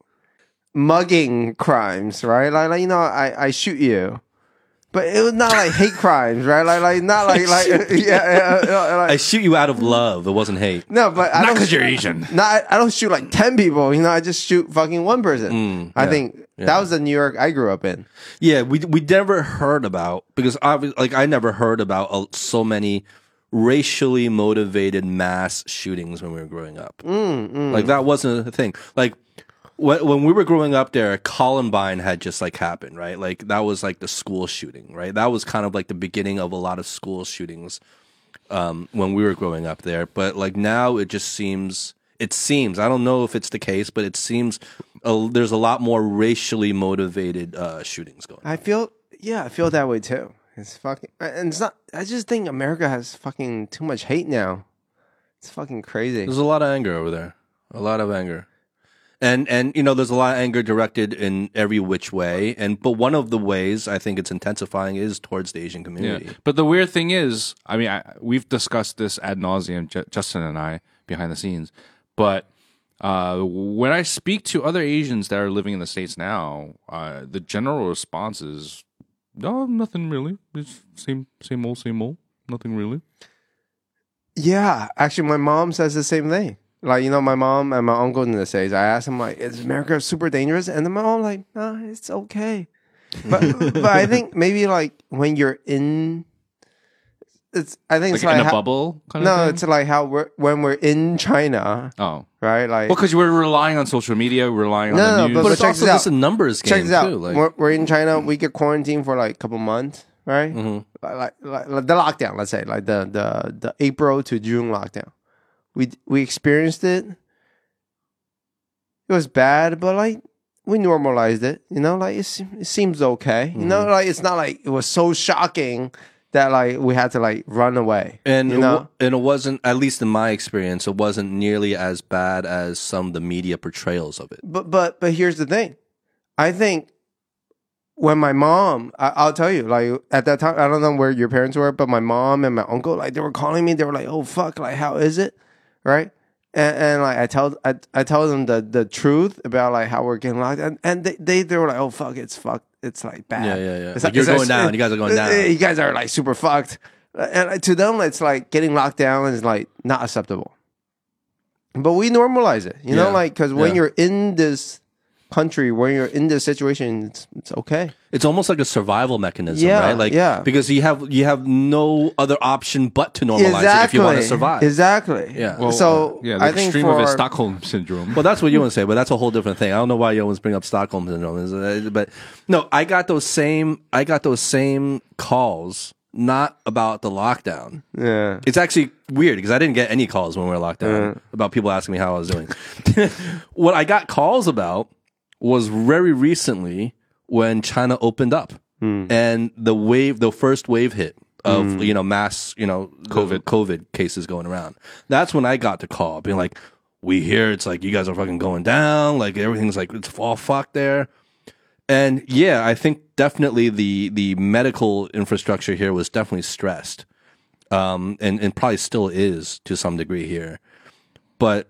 mugging crimes, right? Like like you know, I I shoot you, but it was not like hate crimes, right? Like like not like like yeah, yeah, yeah, like, I shoot you out of love. It wasn't hate. no, but I not don't. because you're Asian. No, I, I don't shoot like ten people. You know, I just shoot fucking one person. Mm, I yeah, think yeah. that was the New York I grew up in. Yeah, we we never heard about because obvi- like I never heard about uh, so many racially motivated mass shootings when we were growing up. Mm, Like that wasn't a thing. Like when when we were growing up, there Columbine had just like happened, right? Like that was like the school shooting, right? That was kind of like the beginning of a lot of school shootings um, when we were growing up there. But like now, it just seems. It seems I don't know if it's the case, but it seems uh, there's a lot more racially motivated uh, shootings going on. I feel yeah, I feel that way too. It's fucking and it's not. I just think America has fucking too much hate now. It's fucking crazy. There's a lot of anger over there. A lot of anger. And and you know, there's a lot of anger directed in every which way. And but one of the ways I think it's intensifying is towards the Asian community. Yeah. But the weird thing is, I mean, I, we've discussed this ad nauseum, J- Justin and I, behind the scenes. But uh, when I speak to other Asians that are living in the States now, uh, the general response is, "No, nothing really. It's same, same old, same old. Nothing really." Yeah, actually, my mom says the same thing. like you know, my mom and my uncle in the States. I asked them like, "Is America super dangerous?" And then my mom like, "No, it's okay." But but I think maybe like when you're in, it's I think Like it's like in a how- bubble kind no, of thing? it's like how we're when we're in China, Oh. right? Like Well, because we're relying on social media, we're relying on No, the no, news. but- But it's check also this out. just a numbers game check this out. too. Like, we're, we're in China. We get quarantined for like a couple months, right? Mhm. Like, like, like, like the lockdown. Let's say like the the the April to June lockdown. We we experienced it. It was bad, but like we normalized it. You know, like it's, it seems okay. You know, like it's not like it was so shocking that like we had to like run away. And you it know, wa- and it wasn't, at least in my experience, it wasn't nearly as bad as some of the media portrayals of it. but but but here's the thing. I think when my mom, I, I'll tell you, like at that time, I don't know where your parents were, but my mom and my uncle, like they were calling me. They were like, "Oh fuck, like how is it?" Right? And, and like I tell, I, I tell them the, the truth about like how we're getting locked, and, and they, they they were like, "Oh fuck, it's fucked, it's like bad." Yeah, yeah, yeah. It's Like, you're it's going down. You guys are going down. You guys are like super fucked, and uh, to them, it's like getting locked down is like not acceptable. But we normalize it, you know, Yeah. like because when Yeah. you're in this country, when you're in this situation, it's, it's okay. It's almost like a survival mechanism, Yeah, right? Like, yeah. because you have you have no other option but to normalize it if you want to survive. Exactly. Yeah. Well, so yeah, the I think extreme for of it is Stockholm syndrome. Well, that's what you want to say, but that's a whole different thing. I don't know why you always bring up Stockholm syndrome, is it? But no, I got those same I got those same calls, not about the lockdown. yeah. It's actually weird because I didn't get any calls when we were locked down about people asking me how I was doing. What I got calls about was very recently when China opened up and the wave, the first wave hit of you know mass you know COVID. COVID cases going around. That's when I got the call being like, "We hear it's like you guys are fucking going down, like everything's like it's all fucked there." And yeah, I think definitely the the medical infrastructure here was definitely stressed, um, and and probably still is to some degree here. But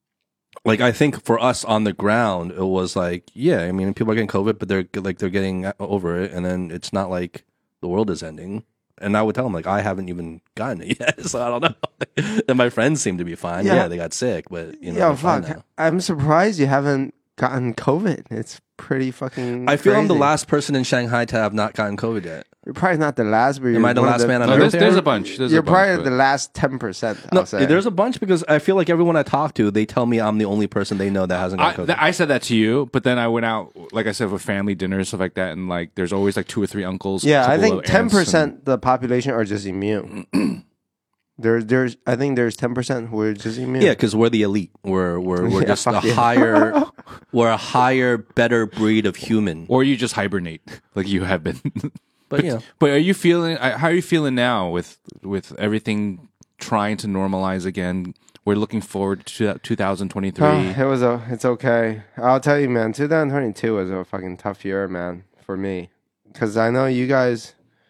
like I think for us on the ground, it was like, yeah, I mean, people are getting COVID, but they're like they're getting over it, and then it's not like the world is ending. And I would tell them like I haven't even gotten it yet, so I don't know. And my friends seem to be fine. Yeah. Yeah, they got sick, but you know, Yo, they're fine fuck. now. I'm surprised you haven't gotten COVID. It's pretty fucking. I feel I'm the crazy. last person in Shanghai to have not gotten COVID yet. You're probably not the last, but you're Am I the one of last man on no, earth? there's, there? there's a bunch. There's You're a bunch, probably but- the last ten percent. No, I'll say. there's a bunch because I feel like everyone I talk to, they tell me I'm the only person they know that hasn't I, gotten COVID. th- I said that to you, but then I went out, like I said, with family dinners, stuff like that, and like there's always like two or three uncles. Yeah, I couple think of ten aunts, and- percent the population are just immune. there's, there's, I think there's ten percent who are just immune. Yeah, because we're the elite. We're we're we're Yeah, just a fuck yeah. higher, we're a higher, better breed of human. Or you just hibernate, like you have been. But you know, But are you feeling? I- How are you feeling now with with everything trying to normalize again? We're looking forward to two thousand twenty-three. Oh, it was a, it's okay. I'll tell you, man. twenty twenty-two was a fucking tough year, man, for me, because I know you guys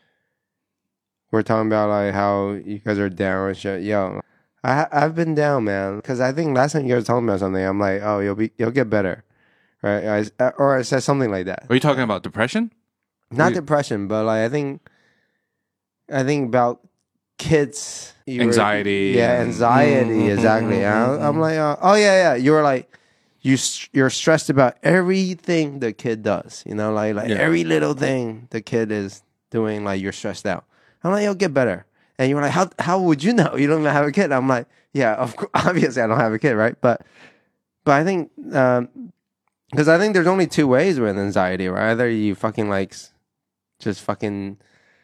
were talking about like how you guys are down and shit. Yo, I ha- I've been down, man, because I think last time you guys were talking about something, I'm like, oh, you'll be, you'll get better, right? I, or I said something like that. Are you talking about depression? Not We- depression, but like I think, I think about kids you were- Anxiety yeah, and- anxiety, Mhm, exactly. mhm, And I- mhm. I'm like, uh, oh yeah, yeah. You were like, you s- you're stressed about everything the kid does. You know, like like Yeah. every little thing the kid is doing. Like you're stressed out. I'm like, you'll get better. And you were like, how how would you know? You don't even have a kid. I'm like, yeah, of course, obviously I don't have a kid, right? But but I think um because I think there's only two ways with anxiety, right? Either you fucking like s- just fucking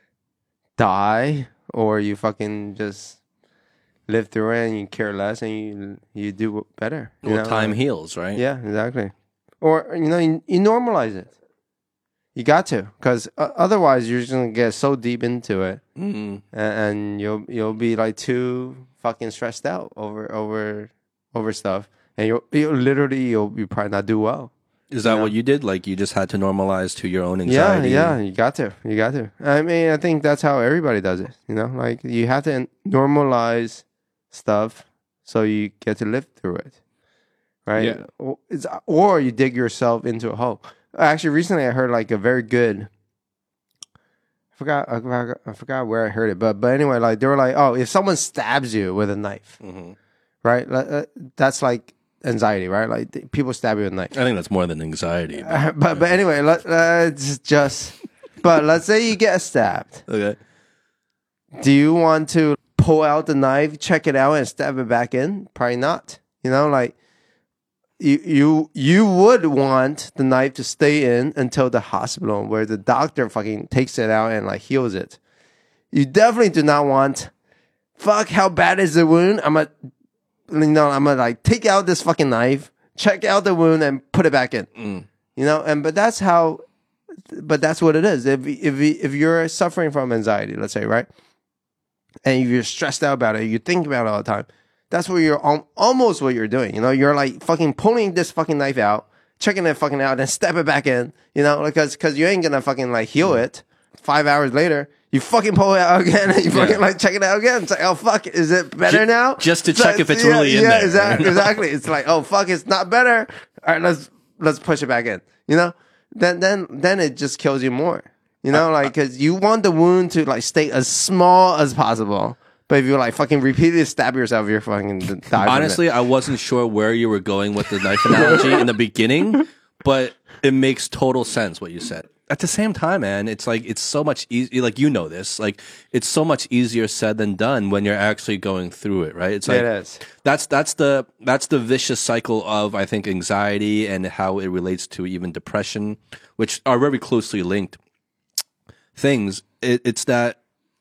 die, or you fucking just live through it and you care less and you you do better. You well, know? time Like- heals, right? Yeah, exactly. Or you know, you, you normalize it. You got to, because uh, otherwise you're just gonna get so deep into it, Mm. and, and you'll you'll be like too fucking stressed out over over over stuff, and you'll you literally you'll you probably not do well. Is that Yeah. what you did? Like you just had to normalize to your own Yeah, anxiety? yeah, you got to, you got to. I mean, I think that's how everybody does it. You know, like you have to normalize stuff so you get to live through it, right? Yeah. Or, it's, or you dig yourself into a hole. Actually, recently I heard like a very good. I forgot, I forgot, I forgot where I heard it, but but anyway, like they were like, oh, if someone stabs you with a knife, Mhm. right? Uh, That's like anxiety, right? Like th- people stab you with a knife. I think that's more than anxiety. But, Uh, but but anyway, let, let's just. But let's say you get stabbed. okay. Do you want to pull out the knife, check it out, and stab it back in? Probably not. You know, like you you you would want the knife to stay in until the hospital where the doctor fucking takes it out and like heals it. You definitely do not want. Fuck, how bad is the wound? I'm gonna, you know, I'm gonna like take out this fucking knife, check out the wound, and put it back in. Mm. You know, and but that's how. But that's what it is. If if if you're suffering from anxiety, let's say, right, and if you're stressed out about it, you think about it all the time. That's what you're al- almost what you're doing. You know, you're like fucking pulling this fucking knife out, checking it fucking out, and step it back in. You know, because because you ain't gonna fucking like heal it. Five hours later, you fucking pull it out again, and you fucking Yeah. like check it out again. It's like, oh fuck, is it better Ju- now? just to It's check like- if it's yeah, really in yeah, there. Exactly, exactly. It's like, oh fuck, it's not better. All right, let's let's push it back in. You know, then then then it just kills you more. You know, like because you want the wound to like stay as small as possible. But if you like fucking repeatedly stab yourself, you're fucking die. from it. Honestly, I wasn't sure where you were going with the knife analogy in the beginning, but it makes total sense what you said. At the same time, man, it's like it's so much easier. Like you know this, like it's so much easier said than done when you're actually going through it, right? It's like It is. that's that's the that's the vicious cycle of I think anxiety and how it relates to even depression, which are very closely linked things. It, it's that.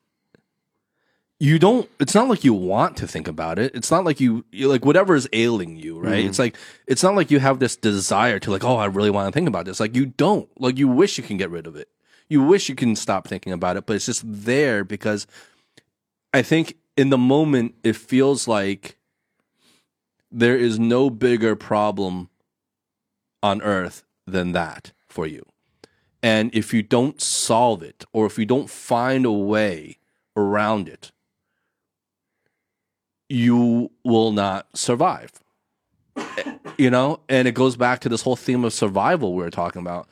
You don't, it's not like you want to think about it. It's not like you, you like whatever is ailing you, right? Mm-hmm. It's like, it's not like you have this desire to like, oh, I really want to think about this. Like you don't, like you wish you can get rid of it. You wish you can stop thinking about it, but it's just there because I think in the moment it feels like there is no bigger problem on earth than that for you. And if you don't solve it or if you don't find a way around it, you will not survive. You know? And it goes back to this whole theme of survival we were talking about.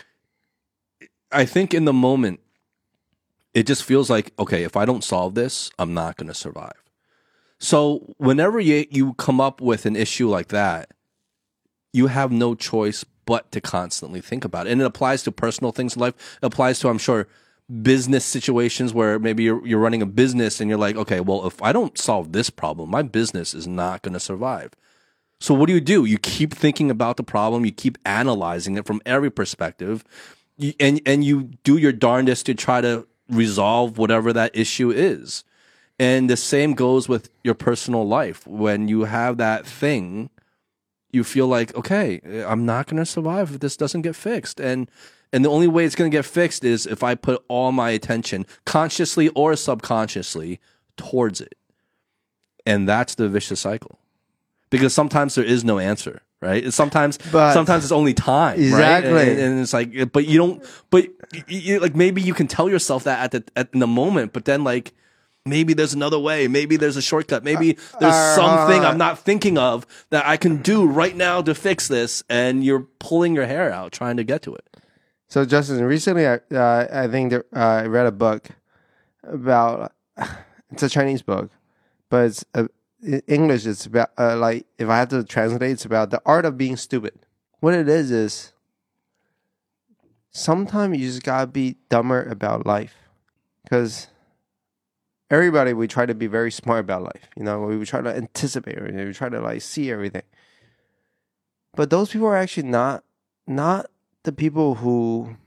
I think in the moment, it just feels like, okay, if I don't solve this, I'm not going to survive. So whenever you, you come up with an issue like that, you have no choice but to constantly think about it. And it applies to personal things in life. It applies to, I'm sure, business situations where maybe you're you're running a business and you're like, okay, well, if I don't solve this problem, my business is not going to survive. So what do you do? You keep thinking about the problem. You keep analyzing it from every perspective, you, and and you do your darndest to try to resolve whatever that issue is. And the same goes with your personal life. When you have that thing, you feel like, okay, I'm not going to survive if this doesn't get fixed. And And the only way it's going to get fixed is if I put all my attention, consciously or subconsciously, towards it. And that's the vicious cycle. Because sometimes there is no answer, right? And sometimes, But- sometimes it's only time, Exactly. right? And, and it's like, but you don't, but you, you, like maybe you can tell yourself that at the at in the moment, but then like maybe there's another way, maybe there's a shortcut, maybe there's Uh, something uh, I'm not thinking of that I can do right now to fix this, and you're pulling your hair out trying to get to it. So, Justin, recently I uh, I think there, uh, I read a book about it's a Chinese book, but it's uh, in English. It's about uh, like if I had to translate, it's about the art of being stupid. What it is is sometimes you just gotta be dumber about life, because everybody we try to be very smart about life. You know, we try to anticipate everything. We try to like see everything, but those people are actually not not. the people who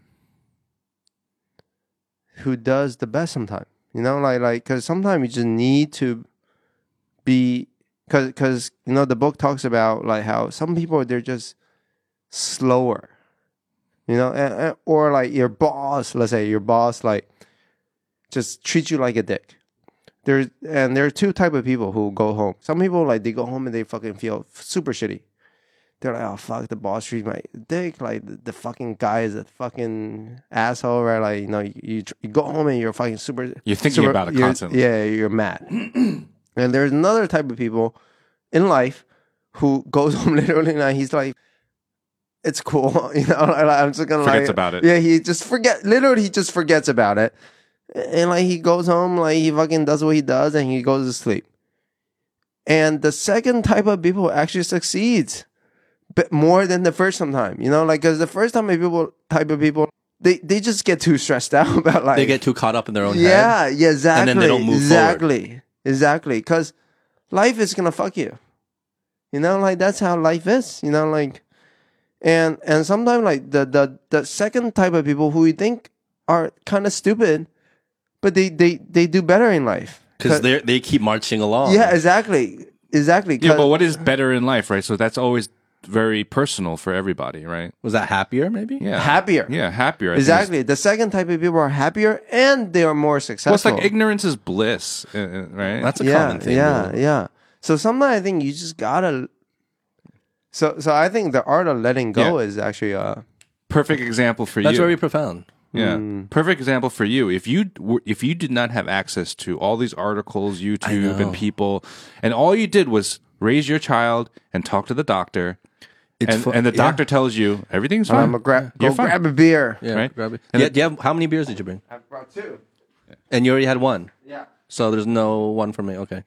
who does the best sometimes, you know, like like because sometimes you just need to be because because you know the book talks about like how some people they're just slower, you know, and, and, or like your boss, let's say your boss like just treats you like a dick. There's and there are two type of people who go home. Some people like they go home and they fucking feel super shitty. They're like, oh, fuck, the boss treats my dick. Like, the, the fucking guy is a fucking asshole, right? Like, you know, you, you, you go home and you're fucking super... You're thinking super, about it you're- constantly. Yeah, you're mad. And there's another type of people in life who goes home literally and he's like, it's cool. You know, like, I'm just gonna Forgets like... about it. Yeah, he just forget... Literally, he just forgets about it. And, like, he goes home, like, he fucking does what he does and he goes to sleep. and the second type of people actually succeeds, but more than the first time. You know, like because the first time of people type of people. They they just get too stressed out about like They get too caught up in their own yeah head. yeah exactly And then they don't move exactly forward. exactly because life is gonna fuck you, you know, like that's how life is, you know, like and and sometimes like the the the second type of people who we think are kind of stupid, but they they they do better in life Because they they keep marching along. yeah exactly exactly Yeah, 'cause- but what is better in life, right? So that's always very personal for everybody, right? Was that happier, maybe? Yeah, Happier. Yeah, happier. I think is- exactly the second type of people are happier and they are more successful. Well, it's like ignorance is bliss, uh, uh, right? That's a yeah, common thing. Yeah, really. yeah. So sometimes I think you just gotta. So, so I think the art of letting go Yeah. is actually uh Perfect example for That's you. very profound. Yeah, Mm. perfect example for you. If you were, if you did not have access to all these articles, YouTube, know. and people, and all you did was raise your child and talk to the doctor, It's and, fu- and the yeah. doctor tells you everything's fine. I'm gonna grab You're go fine. grab a beer. Yeah, Right? grab it. And Yeah, it- do you have, how many beers did you bring? I brought two. And you already had one. Yeah. So there's no one for me. Okay.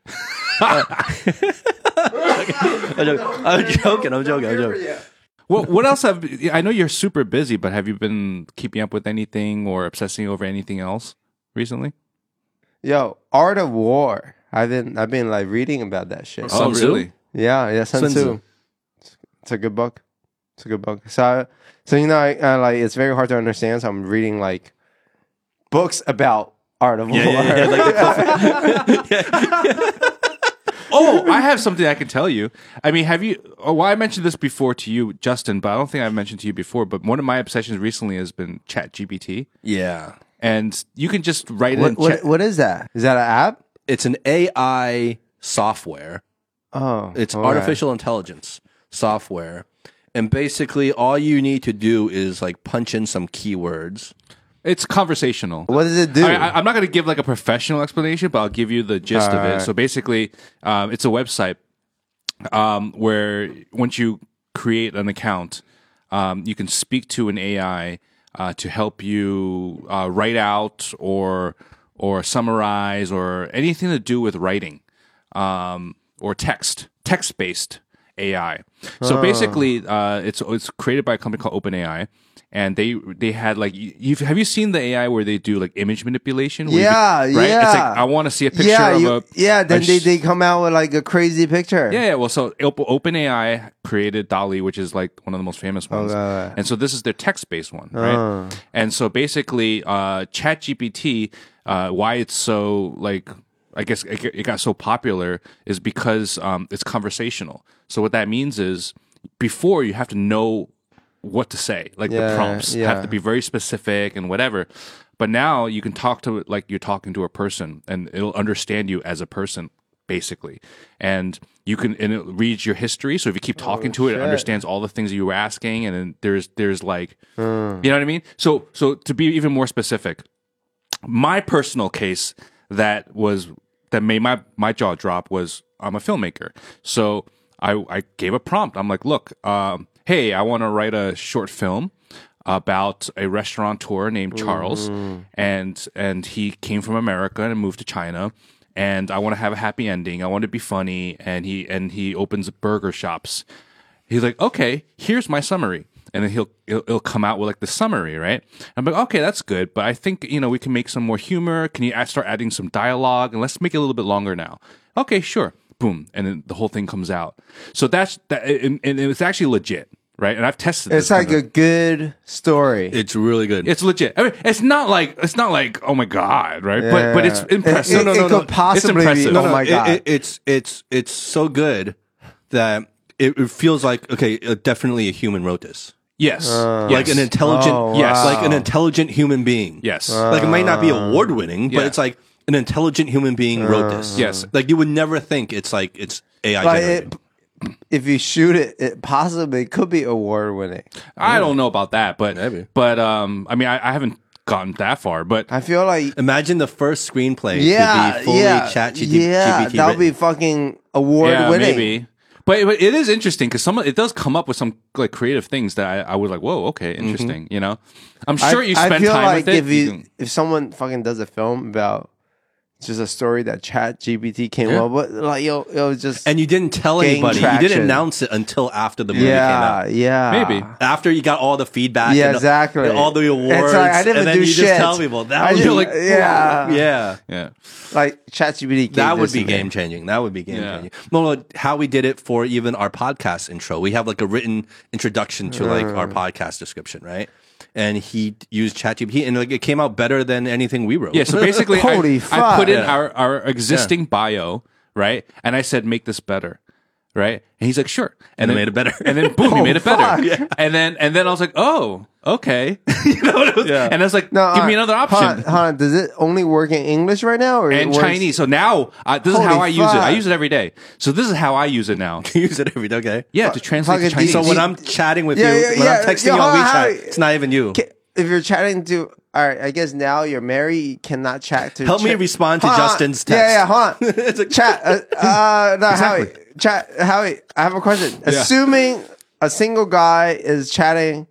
I'm joking. I'm joking. I'm joking. I'm joking. What what else have I know you're super busy, but have you been keeping up with anything or obsessing over anything else recently? Yo, Art of War. I've been I've been like reading about that shit. Sun oh, Tzu? really? Yeah, yeah, Sun Sun Tzu. Tzu. It's, it's a good book. It's a good book. So, so you know, I, I like it's very hard to understand. So I'm reading like books about Art of Yeah, War. yeah, yeah, like the Oh, I have something I can tell you. I mean, have you? Oh, well, I mentioned this before to you, Justin, but I don't think I've mentioned to you before. But one of my obsessions recently has been ChatGPT, Yeah. and you can just write what, in. what, Chat- what is that? Is that an app? It's an A I software. Oh, It's okay. artificial intelligence software. And basically all you need to do is like punch in some keywords. it's conversational. What does it do? I, I, I'm not going to give like a professional explanation, but I'll give you the gist of it. Alright. So basically, um, it's a website um, where once you create an account, um, you can speak to an A I uh, to help you uh, write out or or summarize or anything to do with writing um, or text, text based A I. So basically, uh, it's it's created by a company called OpenAI. And they they had like you you've, have you seen the A I where they do like image manipulation? Where you Yeah, could- right? It's like yeah. I want to see a picture yeah, of you, a yeah. Then a they, sh- they come out with like a crazy picture. yeah, yeah. Well, so Op- OpenAI created DALL-E, which is like one of the most famous ones, Okay. and so this is their text-based one, right? Oh. And so basically, uh, ChatGPT, uh, why it's so like, I guess it it got so popular is because um, it's conversational. So what that means is, before you have to know what to say, like Yeah, the prompts yeah. have to be very specific and whatever. But now you can talk to it like you're talking to a person, and it'll understand you as a person, basically. And you can and it reads your history. So if you keep talking to it, it shit. understands all the things that you were asking. And then there's there's like, you know what I mean. So so to be even more specific, my personal case that was that made my my jaw drop was I'm a filmmaker. So I I gave a prompt. I'm like, look, um, hey, I want to write a short film about a restaurateur named Charles, and and he came from America and moved to China, and I want to have a happy ending. I want to be funny, and he and he opens burger shops. He's like, okay, here's my summary. And then he'll, he'll he'll come out with like the summary, right? I'm like, okay, that's good, but I think you know we can make some more humor. Can you add, start adding some dialogue and let's make it a little bit longer now? Okay, sure. Boom, and then the whole thing comes out. So that's that, and, and it's actually legit, right? And I've tested. It's this like kind a of- good story. It's really good. it's legit. I mean, it's not like it's not like oh my god, right? But but it's Yeah. impressive. It, it, it could possibly It's impressive. be. No, Oh no, my it- god! it- it's it's it's so good that it, it feels like okay, uh, definitely a human wrote this. Yes, Uh, Like yes. an intelligent, Oh, Yes. like an wow. intelligent human being. yes. Like it might not be award winning, but Yeah. it's like an intelligent human being wrote this. Yes. Like you would never think it's like it's A I Like generated. it, if you shoot it, it possibly could be award winning. I don't know about that, but Maybe. but um, I mean, I, I haven't gotten that far, but I feel like Imagine the first screenplay yeah, to be fully yeah, chat G P T. yeah, that would be fucking award yeah, winning. maybe. But, but it is interesting because some of- it does come up with some like creative things that I, I was like, whoa, okay, interesting. You know, I'm sure you spend I feel time like with it. if you, can- if someone fucking does a film about just a story that Chat G P T came Yeah. up with. Like, it, it was just And you didn't tell gain anybody. You traction. didn't announce it until after the movie came yeah, out. yeah, Maybe. After you got all the feedback, Yeah, and exactly. all the awards, It's like, I didn't and then do you shit. just tell people that I was didn't- like, yeah. yeah. Yeah. like Chat G P T. That would be game changing. That would be game Yeah. changing. Well, how we did it for even our podcast intro. We have like a written introduction to like our Mm. podcast description, right? And he used ChatGPT, and like it came out better than anything we wrote. Yeah, so basically, I, Holy I fuck. put in Yeah. our, our existing bio, right? And I said, make this better, right? And he's like, sure. And then it made it better. And then boom, he Oh, made it better. fuck. Yeah. And then and then I was like, oh, okay. you know what it was? Yeah. And I was like, No, give me uh, another hold option. on, hold on. Does it only work in English right now, or it And works- Chinese. So now, uh, this is Holy how I use it. I fuck. use it every day. So this is how I use it now. use it every day. Okay. Yeah, to translate to fucking Chinese. So Do when you- I'm chatting with Yeah, you, yeah, when yeah. I'm texting Yo, you on hold on, WeChat, Harry. it's not even you. Ca- If you're chatting to, all right, I guess now you're married, you cannot chat to. Help me chat- respond to Hold on. Justin's Yeah, text. yeah, hold on. It's like- chat. Uh, uh, no, Exactly. Howie. Chat. Howie. I have a question. Assuming a single guy is chatting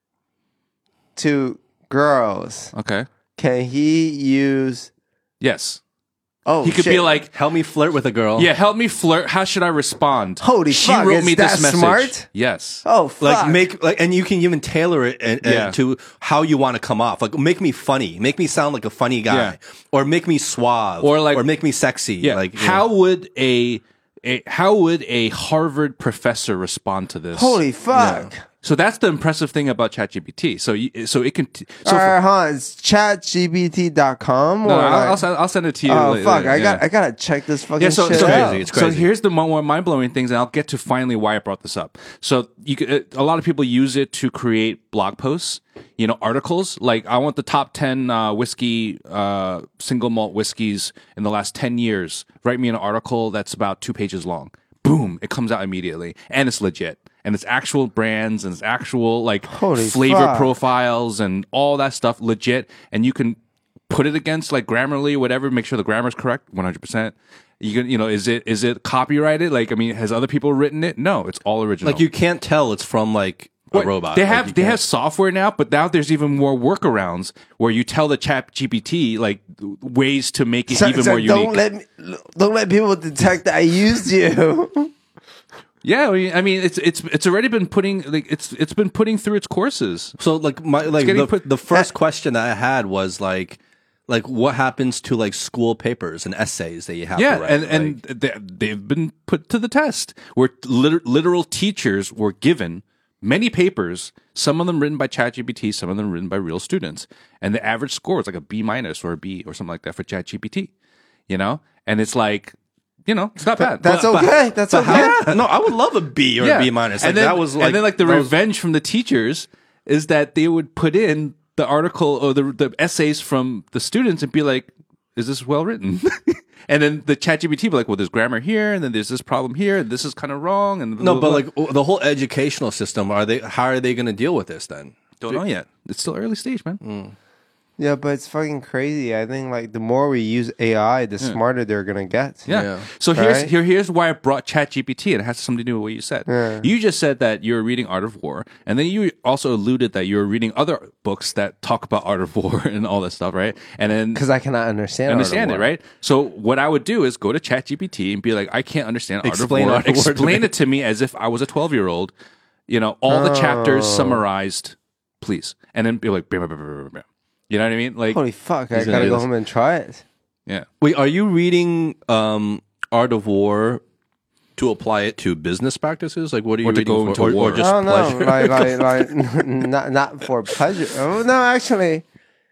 to girls, Okay. can he use? Yes. Oh, He could shit. be like, Help me flirt with a girl. yeah, help me flirt. How should I respond? Holy she fuck, wrote is me this that message. smart? Yes. Oh, fuck. Like make like, and you can even tailor it and, and Yeah. to how you want to come off. Like make me funny, make me sound like a funny guy, Yeah. or make me suave, Or like- or make me sexy. Yeah. Like you how know. would a, a how would a Harvard professor respond to this? Holy fuck. So that's the impressive thing about ChatGPT. So you, so it can. T- so All for, right, huh? It's chat G P T dot com. no, or I'll, like- I'll, send, I'll send it to you. Oh later. fuck! I Yeah. got I gotta check this fucking Yeah, so, shit so, out. It's so crazy. here's the mo- more mind-blowing things, and I'll get to finally why I brought this up. So you could, uh, a lot of people use it to create blog posts, you know, articles. Like, I want the top ten uh, whiskey, uh, single malt whiskeys in the last ten years. Write me an article that's about two pages long. Boom, it comes out immediately, and it's legit. And it's actual brands and it's actual like Holy flavor fuck. profiles and all that stuff legit. And you can put it against like Grammarly, whatever, make sure the grammar's correct, one hundred percent. You can, you know, is it is it copyrighted? Like, I mean, has other people written it? No, it's all original. like you can't tell it's from like a What- robot. They Like, have you they can't- have software now, but now there's even more workarounds where you tell the Chat G P T like ways to make it So- even so more unique. don't let me, don't let people detect that I used you. Yeah, I mean, I mean, it's it's it's already been putting like it's it's been putting through its courses. So like my like getting the, put- the first question that I had was like like what happens to like school papers and essays that you have Yeah, to write? and Like, and they, they've been put to the test where liter- literal teachers were given many papers, some of them written by ChatGPT, some of them written by real students, and the average score was like a B minus or a B or something like that for ChatGPT. You know, and it's like, you know, it's not bad. That's but- okay. That's but okay. how- no, I would love a B or a B minus. Like and then, that was like and then like the that was- revenge from the teachers is that they would put in the article or the the essays from the students and be like, "Is this well written?" And then the ChatGPT be like, "Well, there's grammar here, and then there's this problem here, and this is kind of wrong." And no, but like the whole educational system, are they? How are they going to deal with this then? don't know yet. It's still early stage, man. Yeah, but it's fucking crazy. I think like the more we use A I, the smarter they're gonna get. Yeah. Yeah. So here's Right? here here's why I brought ChatGPT, and it has something to do with what you said. Yeah. You just said that you're reading Art of War, and then you also alluded that you're reading other books that talk about Art of War and all that stuff, right? And then Because I cannot understand. understand Art it, of War. right? So what I would do is go to ChatGPT and be like, I can't understand Explain Art of War. Art of War to Explain me. it to me as if I was a twelve year old. You know, all the chapters Oh. summarized, please, and then be like, bam, bam, bam, bam, bam, bam. You know what I mean? Like, Holy fuck! I He's gonna gotta do go this. home and try it. yeah. Wait, are you reading um, Art of War to apply it to business practices? Like, what are you Or to reading go for? into or, war. or just I don't know, pleasure? like like like not not for pleasure. Oh no, actually,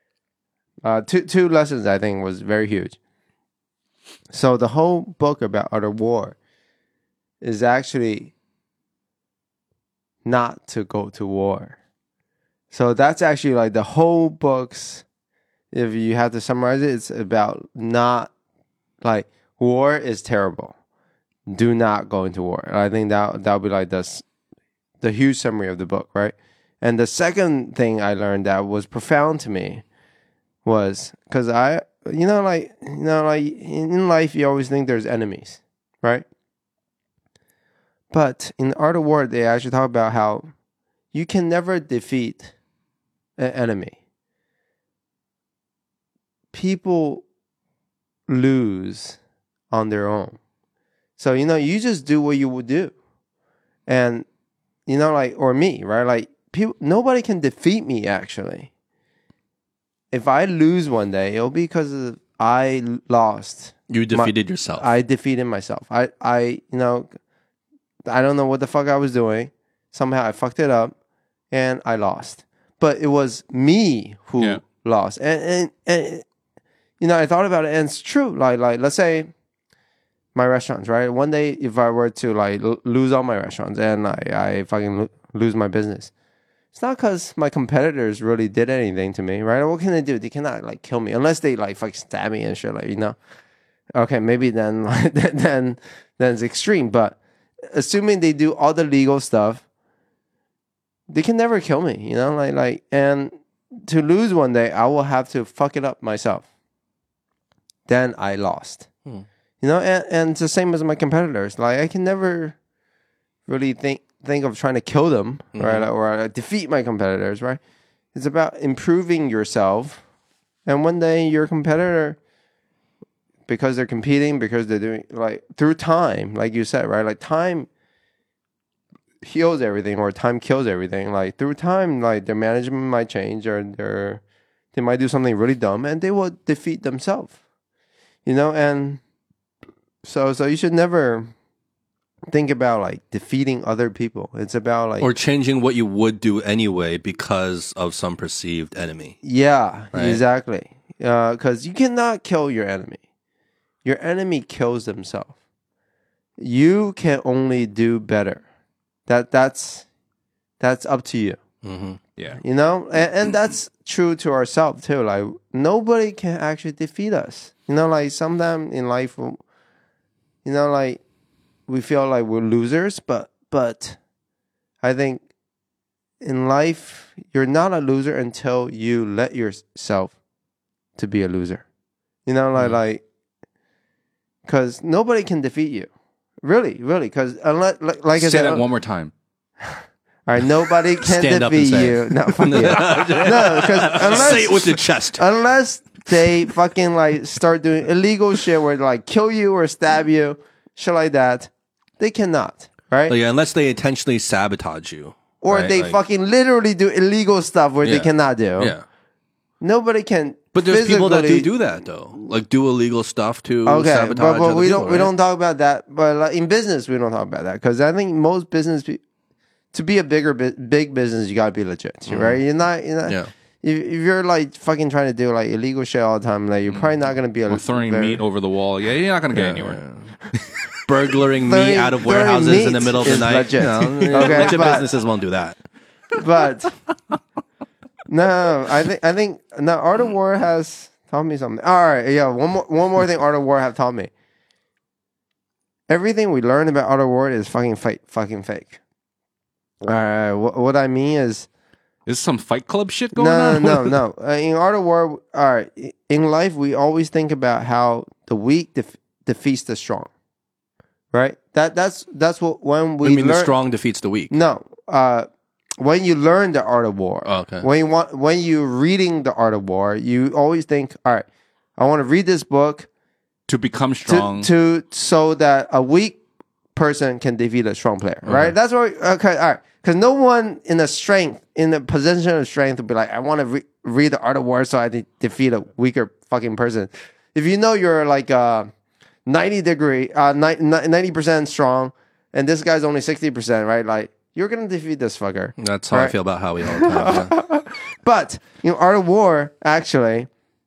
uh, two two lessons I think was very huge. So the whole book about Art of War is actually not to go to war. So that's actually like the whole book's. If you have to summarize it, it's about not like war is terrible. Do not go into war. I think that that'll be like this the huge summary of the book, right? And the second thing I learned that was profound to me was because I, you know, like, you know, like in life, you always think there's enemies, right? But in Art of War, they actually talk about how you can never defeat an enemy. People lose on their own. So, you know, you just do what you would do. And, you know, like, or me, right? Like, people, nobody can defeat me, actually. If I lose one day, it'll be because I lost. You defeated my, yourself. I defeated myself. I, I, you know, I don't know what the fuck I was doing. Somehow I fucked it up and I lost. But it was me who yeah. lost. And, and, and, you know, I thought about it and it's true. Like, like, let's say my restaurants, right? One day, if I were to like l- lose all my restaurants and I, I fucking lo- lose my business, it's not because my competitors really did anything to me, right? What can they do? They cannot like kill me unless they like fucking stab me and shit, like, you know. Okay, maybe then, like, then, then it's extreme. But assuming they do all the legal stuff, they can never kill me, you know. Like, like, and to lose one day, I will have to fuck it up myself. Then I lost, hmm. you know. And, and it's the same as my competitors. Like, I can never really think. think of trying to kill them, mm-hmm. right? Or uh, defeat my competitors, right? It's about improving yourself. And one day your competitor, because they're competing, because they're doing, like, through time, like you said, right? Like, time heals everything or time kills everything. Like, through time, like, their management might change or their, they might do something really dumb and they will defeat themselves, you know? And so, so you should never think about like defeating other people. It's about like, or changing what you would do anyway because of some perceived enemy. Yeah, right? Exactly. Because uh, you cannot kill your enemy. Your enemy kills themselves. You can only do better. That that's that's up to you. Mm-hmm. Yeah, you know, and, and that's true to ourselves too. Like, nobody can actually defeat us. You know, like sometimes in life, you know, like, we feel like we're losers, but but I think in life, you're not a loser until you let yourself to be a loser. You know, like, mm. like, because nobody can defeat you. Really, really, because unless, like, like I say said, that one more time. All right, nobody can Stand defeat you. No, fuck you. No, because unless say it with your chest. Unless they fucking like start doing illegal shit where they like kill you or stab you, shit like that. They cannot, right? Like, yeah, unless they intentionally sabotage you. Or right? they like, fucking literally do illegal stuff where yeah. they cannot do. Yeah. Nobody can. But there's people that do do that though, like do illegal stuff to okay, sabotage but, but other we people, don't right? we don't talk about that. But like in business, we don't talk about that because I think most business pe- to be a bigger big business, you gotta be legit, mm. right? You're not, you're not. Yeah. If, if you're like fucking trying to do like illegal shit all the time, like you're probably not gonna be a or throwing very, meat over the wall. Yeah, you're not gonna get yeah, anywhere. Yeah. Burglaring meat out of warehouses in the middle of the night. Legit. No, okay, legit but, businesses won't do that. But no, I think I think no. Art of War has taught me something. All right, yeah. One more one more thing. Art of War have taught me. Everything we learn about Art of War is fucking fake. Fucking fake. All right. What, what I mean is, is some Fight Club shit going no, on? No, no, no. Uh, in Art of War, all right. In life, we always think about how the weak def- defeats the strong. Right. That that's that's what when we I mean learn, the strong defeats the weak. No. Uh, when you learn the Art of War, oh, okay. when you want when you're reading the Art of War, you always think, all right, I want to read this book to become strong, to, to so that a weak person can defeat a strong player. Okay. Right. That's what. Okay. All right. Because no one in the strength in the position of strength would be like, I want to re- read the Art of War so I de- defeat a weaker fucking person. If you know you're like uh, ninety degree, uh, ninety percent strong, and this guy's only sixty percent, right? Like, you're gonna defeat this fucker. That's how right? I feel about Howie all the time. Yeah. But you know, Art of War actually.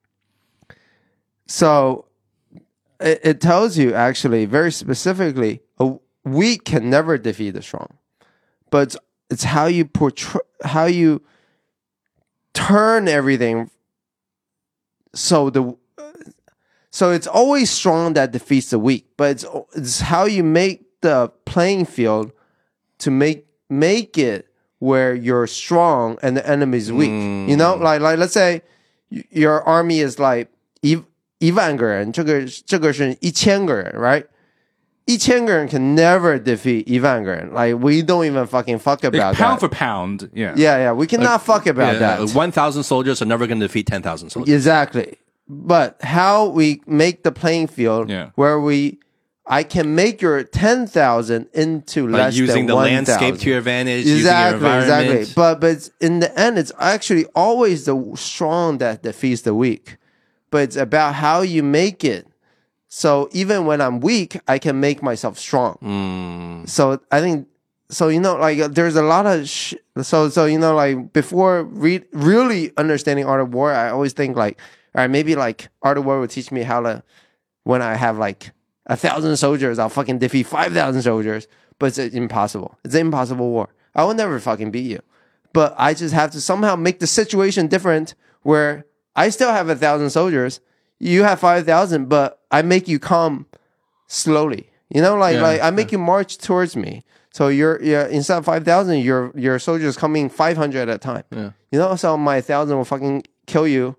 So it, it tells you actually very specifically, a weak can never defeat the strong, but it's, it's how you portray, how you turn everything. So the so it's always strong that defeats the weak, but it's it's how you make the playing field to make make it where you're strong and the enemy is weak. Mm. You know, like like let's say your army is like 一一万个人，这个这个是一千个人 right? 一千个人 can never defeat 一万个人. Like, we don't even fucking fuck about like, pound that. for pound, yeah. Yeah, yeah, we cannot like, fuck about yeah, that. one thousand soldiers are never going to defeat ten thousand soldiers. Exactly. but how we make the playing field Yeah. where we, I can make your ten thousand into Like less using than the one landscape thousand. to your advantage, Exactly, using your environment. exactly. But but it's- in the end, it's actually always the strong that defeats the weak. But it's about how you make it. So even when I'm weak, I can make myself strong. Mm. So I think so. You know, like uh, there's a lot of sh- so so you know, like before re- really understanding Art of War, I always think like, all right, maybe like Art of War would teach me how to when I have like a thousand soldiers, I'll fucking defeat five thousand soldiers. But it's impossible. It's an impossible war. I will never fucking beat you. But I just have to somehow make the situation different where I still have a thousand soldiers. You have five thousand, but I make you come slowly. You know, like Yeah, like I make you march towards me. So you're yeah instead of five thousand, your your soldiers coming five hundred at a time. Yeah. You know, so my thousand will fucking kill you.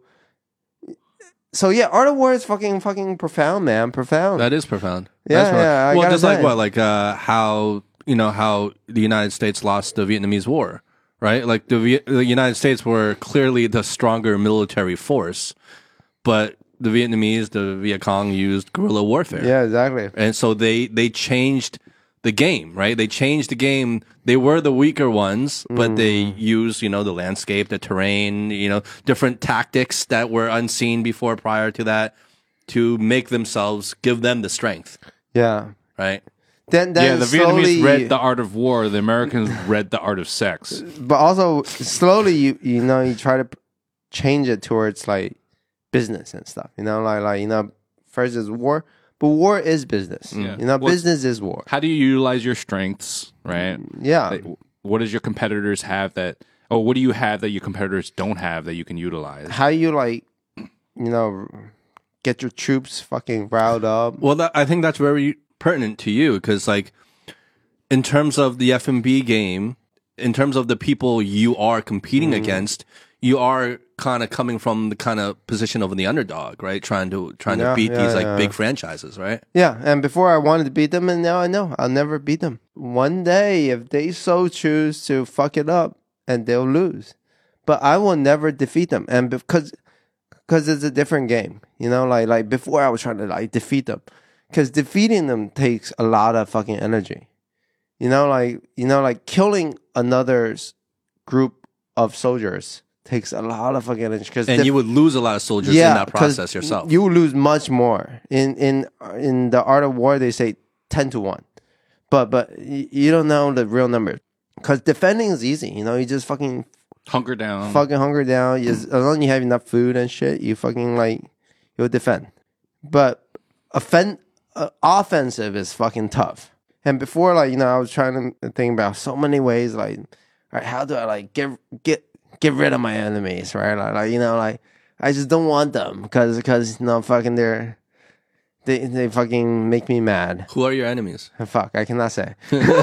So yeah, Art of War is fucking fucking profound, man. Profound. That is profound. Yeah, That's profound. yeah, I well, gotta just like say. what, like uh, how you know how the United States lost the Vietnamese War, right? Like the Viet- the United States were clearly the stronger military force, but the Vietnamese, the Viet Cong, used guerrilla warfare. yeah, exactly. And so they they changed the game, right? They changed the game. They were the weaker ones, but they Mm. used, you know, the landscape, the terrain, you know, different tactics that were unseen before prior to that to make themselves, give them the strength, Yeah. right? Then then Yeah, the slowly, Vietnamese read The Art of War. The Americans read The Art of Sex. but also slowly you you know you try to p- change it towards like business and stuff. You know, like like you know, first is war, but war is business. Yeah. You know, What's- business is war. How do you utilize your strengths, right? Yeah. Like, what does your competitors have that, or what do you have that your competitors don't have that you can utilize? How you like, you know, get your troops fucking riled up. Well, that, I think that's very pertinent to you because, like, in terms of the F M B game, in terms of the people you are competing against, you are kind of coming from the kind of position of the underdog, right? Trying to trying Yeah, to beat yeah, these like yeah. big franchises, right? Yeah, and before I wanted to beat them, and now I know I'll never beat them. One day, if they so choose to fuck it up, and they'll lose, but I will never defeat them, and because because it's a different game, you know. Like like before, I was trying to like defeat them, because defeating them takes a lot of fucking energy, you know. Like you know, like killing another s- group of soldiers takes a lot of fucking energy. Cause And def- you would lose a lot of soldiers in that 'cause process yourself. You will lose much more. In in in the Art of War, they say ten to one, but but y- you don't know the real number. Because defending is easy. You know, you just fucking Hunker down. fucking hunger down. You just, as long as you have enough food and shit, you fucking like you'll defend. But offend uh, offensive is fucking tough. And before, like you know, I was trying to think about so many ways. Like, all right, how do I like get get get rid of my enemies? Right, like, like you know, like I just don't want them because because you know, fucking they're they they fucking make me mad. Who are your enemies? Fuck, I cannot say.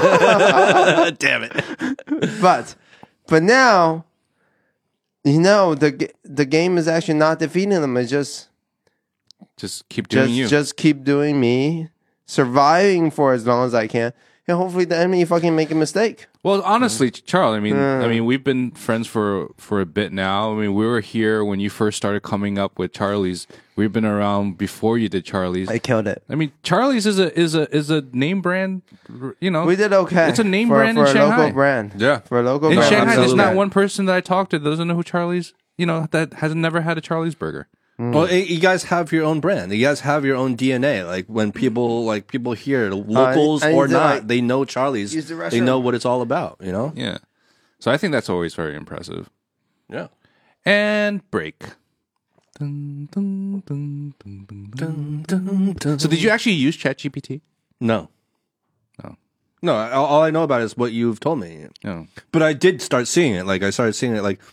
Damn it! But but now, you know, the g- the game is actually not defeating them. It's just Just keep doing just you. just keep doing me, surviving for as long as I can, and hopefully the enemy fucking make a mistake. Well, honestly, Charles, I mean, Yeah. I mean, we've been friends for for a bit now. I mean, we were here when you first started coming up with Charlie's. We've been around before you did Charlie's. I killed it. I mean, Charlie's is a is a is a name brand. You know, We did okay. It's a name for, brand for in a Shanghai. local brand. Yeah. For a local in brand. Shanghai. There's absolutely. not one person that I talked to that doesn't know who Charlie's. You know, that has never had a Charlie's burger. Well, eh, you guys have your own brand. You guys have your own D N A. Like when people, like people here, locals I or need to, not, like, they know Charlie's. use the They know restroom. what it's all about. You know? Yeah. So I think that's always very impressive. Yeah. And break. Dun, dun, dun, dun, dun, dun. So did you actually use ChatGPT? No. No. No. All, all I know about is what you've told me. No. But I did start seeing it. Like I started seeing it. Like,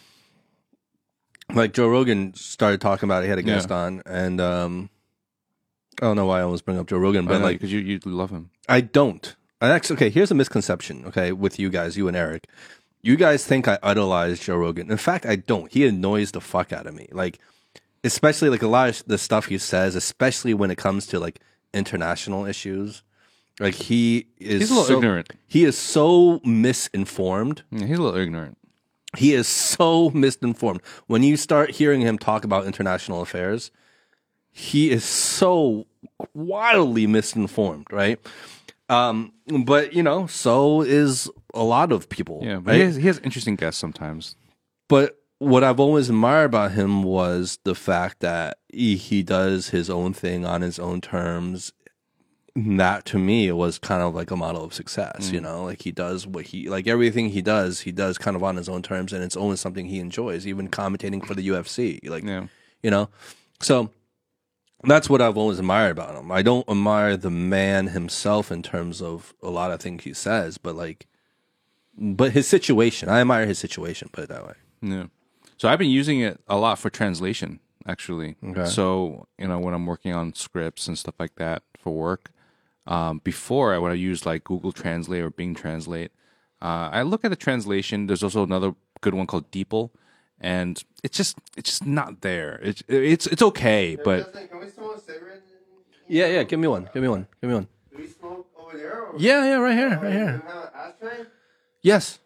like Joe Rogan started talking about it. He had a guest Yeah. on, and um, I don't know why I almost bring up Joe Rogan, but like because you you love him. I don't. I actually, okay, here's a misconception, okay, with you guys, you and Eric. You guys think I idolize Joe Rogan. In fact, I don't. He annoys the fuck out of me. Like, especially like a lot of the stuff he says, especially when it comes to like international issues. Like he is He's a little so, ignorant. He is so misinformed. Yeah, he's a little ignorant. He is so misinformed. When you start hearing him talk about international affairs, he is so wildly misinformed, right? Um, but you know, so is a lot of people. Yeah, but right? he, has, he has interesting guests sometimes. But what I've always admired about him was the fact that he, he does his own thing on his own terms. And that to me was kind of like a model of success, mm. you know, like he does what he, like everything he does, he does kind of on his own terms, and it's always something he enjoys, even commentating for the U F C, like, yeah. you know, so that's what I've always admired about him. I don't admire the man himself in terms of a lot of things he says, but like, but his situation, I admire his situation, put it that way. Yeah. So I've been using it a lot for translation, actually. Okay. So, you know, when I'm working on scripts and stuff like that for work, um, before I would have used like Google Translate or Bing Translate. Uh, I look at the translation. There's also another good one called DeepL, and it's just it's just not there. It's it's it's okay, but Can we smoke a cigarette? Yeah, yeah. Give me one. Give me one. Give me one. Do we smoke over there? Or Yeah, yeah. Right here. Right here. Yes.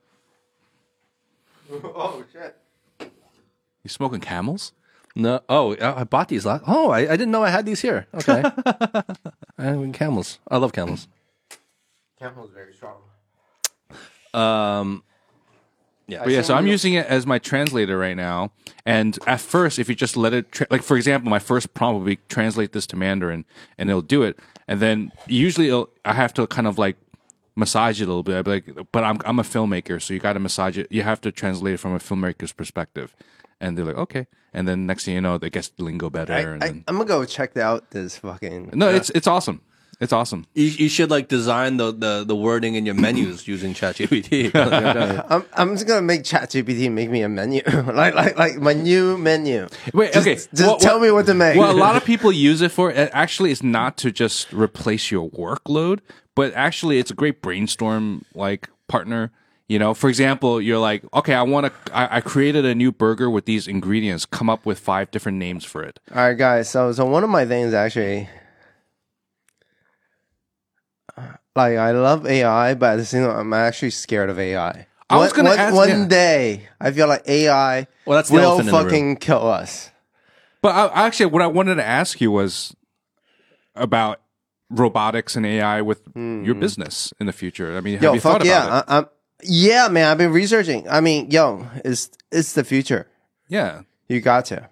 Oh shit! you smoking Camels? No. Oh, I I bought these last. Oh, I, I didn't know I had these here. Okay. I have camels. I love camels. Camel's very strong. Um. Yeah. But yeah, so I'm using it as my translator right now. And at first, if you just let it, tra- like for example, my first prompt will be translate this to Mandarin, and it'll do it. And then usually it'll, I have to kind of like massage it a little bit. I'd be like, but I'm I'm a filmmaker, so you got to massage it. You have to translate it from a filmmaker's perspective. And they're like, okay. And then next thing you know, they get lingo better. I, and I, then, I'm gonna go check out this fucking. no, uh, it's it's awesome. It's awesome. You, you should like design the, the, the wording in your menus using ChatGPT. I'm I'm just gonna make ChatGPT make me a menu, like like like my new menu. Wait, Just- okay. just Well, tell well- me what to make. Well, a lot of people use it for, it actually, it's not to just replace your workload, but actually, it's a great brainstorm like partner. You know, for example, you're like, okay, I want to, I, I created a new burger with these ingredients. Come up with five different names for it. All right, guys. So so one of my things actually, like I love A I, but at the same time, I'm actually scared of A I. I was One- gonna one, ask- one yeah. day. I feel like A I Well, that's the will elephant in the room. fucking kill us. But I, actually, what I wanted to ask you was about robotics and A I with your business in the future. I mean, have Yo, you fuck thought yeah, about it? I, I'm, yeah, man. I've been researching. I mean, yo, it's it's the future. Yeah. You got to.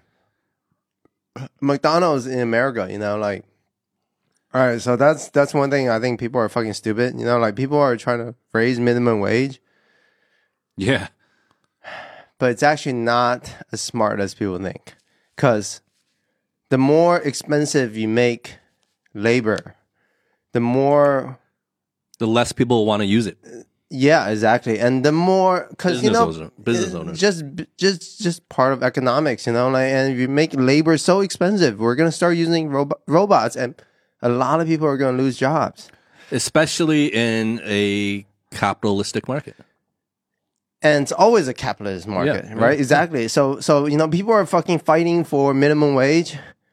McDonald's in America, you know, like, all right. So that's that's one thing I think people are fucking stupid. You know, like people are trying to raise minimum wage, Yeah. but it's actually not as smart as people think. Because the more expensive you make labor, the more, The less people want to use it. yeah, exactly, and the more because you Business know, owner- business it's owners. just just just part of economics, you know. Like, and if you make labor so expensive, we're gonna start using robo- robots, and a lot of people are gonna lose jobs. Especially in a capitalistic market. And it's always a capitalist market, Yeah, right? yeah. Exactly. So, so you know, people are fucking fighting for minimum wage.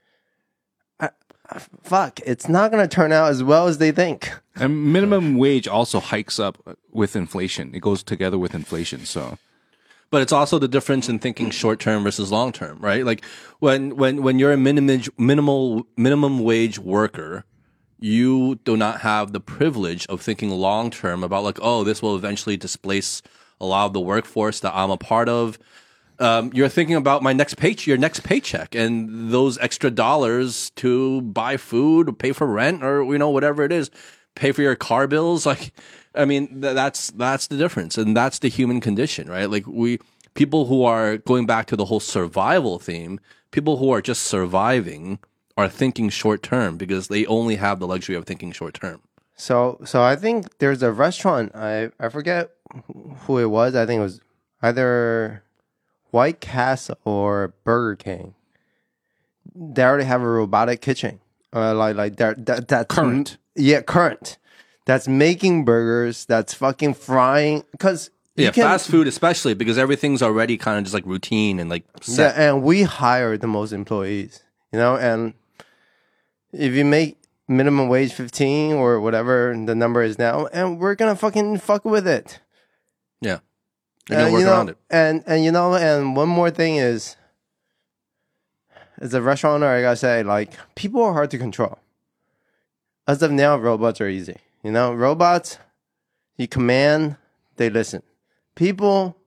I, I- fuck, it's not gonna turn out as well as they think. And minimum wage also hikes up with inflation. It goes together with inflation. So, But it's also the difference in thinking short term versus long term, right? Like when when when you're a minimum minimal minimum wage worker, you do not have the privilege of thinking long term about like, oh, this will eventually displace a lot of the workforce that I'm a part of. Um, you're thinking about my next pay, your next paycheck, and those extra dollars to buy food, pay for rent, or you know whatever it is, pay for your car bills. Like, I mean, th- that's that's the difference, and that's the human condition, right? Like we people who are going back to the whole survival theme, people who are just surviving are thinking short term because they only have the luxury of thinking short term. So, so I think there's a restaurant. I I forget who it was. I think it was either White Castle or Burger King. They already have a robotic kitchen, uh, like like that that that's Current. yeah, current. That's making burgers. That's fucking frying. Because Yeah, fast food especially because everything's already kind of just like routine and like Yeah, set. and we hire the most employees, you know, and if you make minimum wage fifteen or whatever the number is now, and we're gonna fucking fuck with it. Yeah, you're gonna And, work you know, around it. And and you know, and one more thing is, as a restaurant owner, I gotta say, like, people are hard to control. As of now, robots are easy. You know, robots, you command, they listen. People,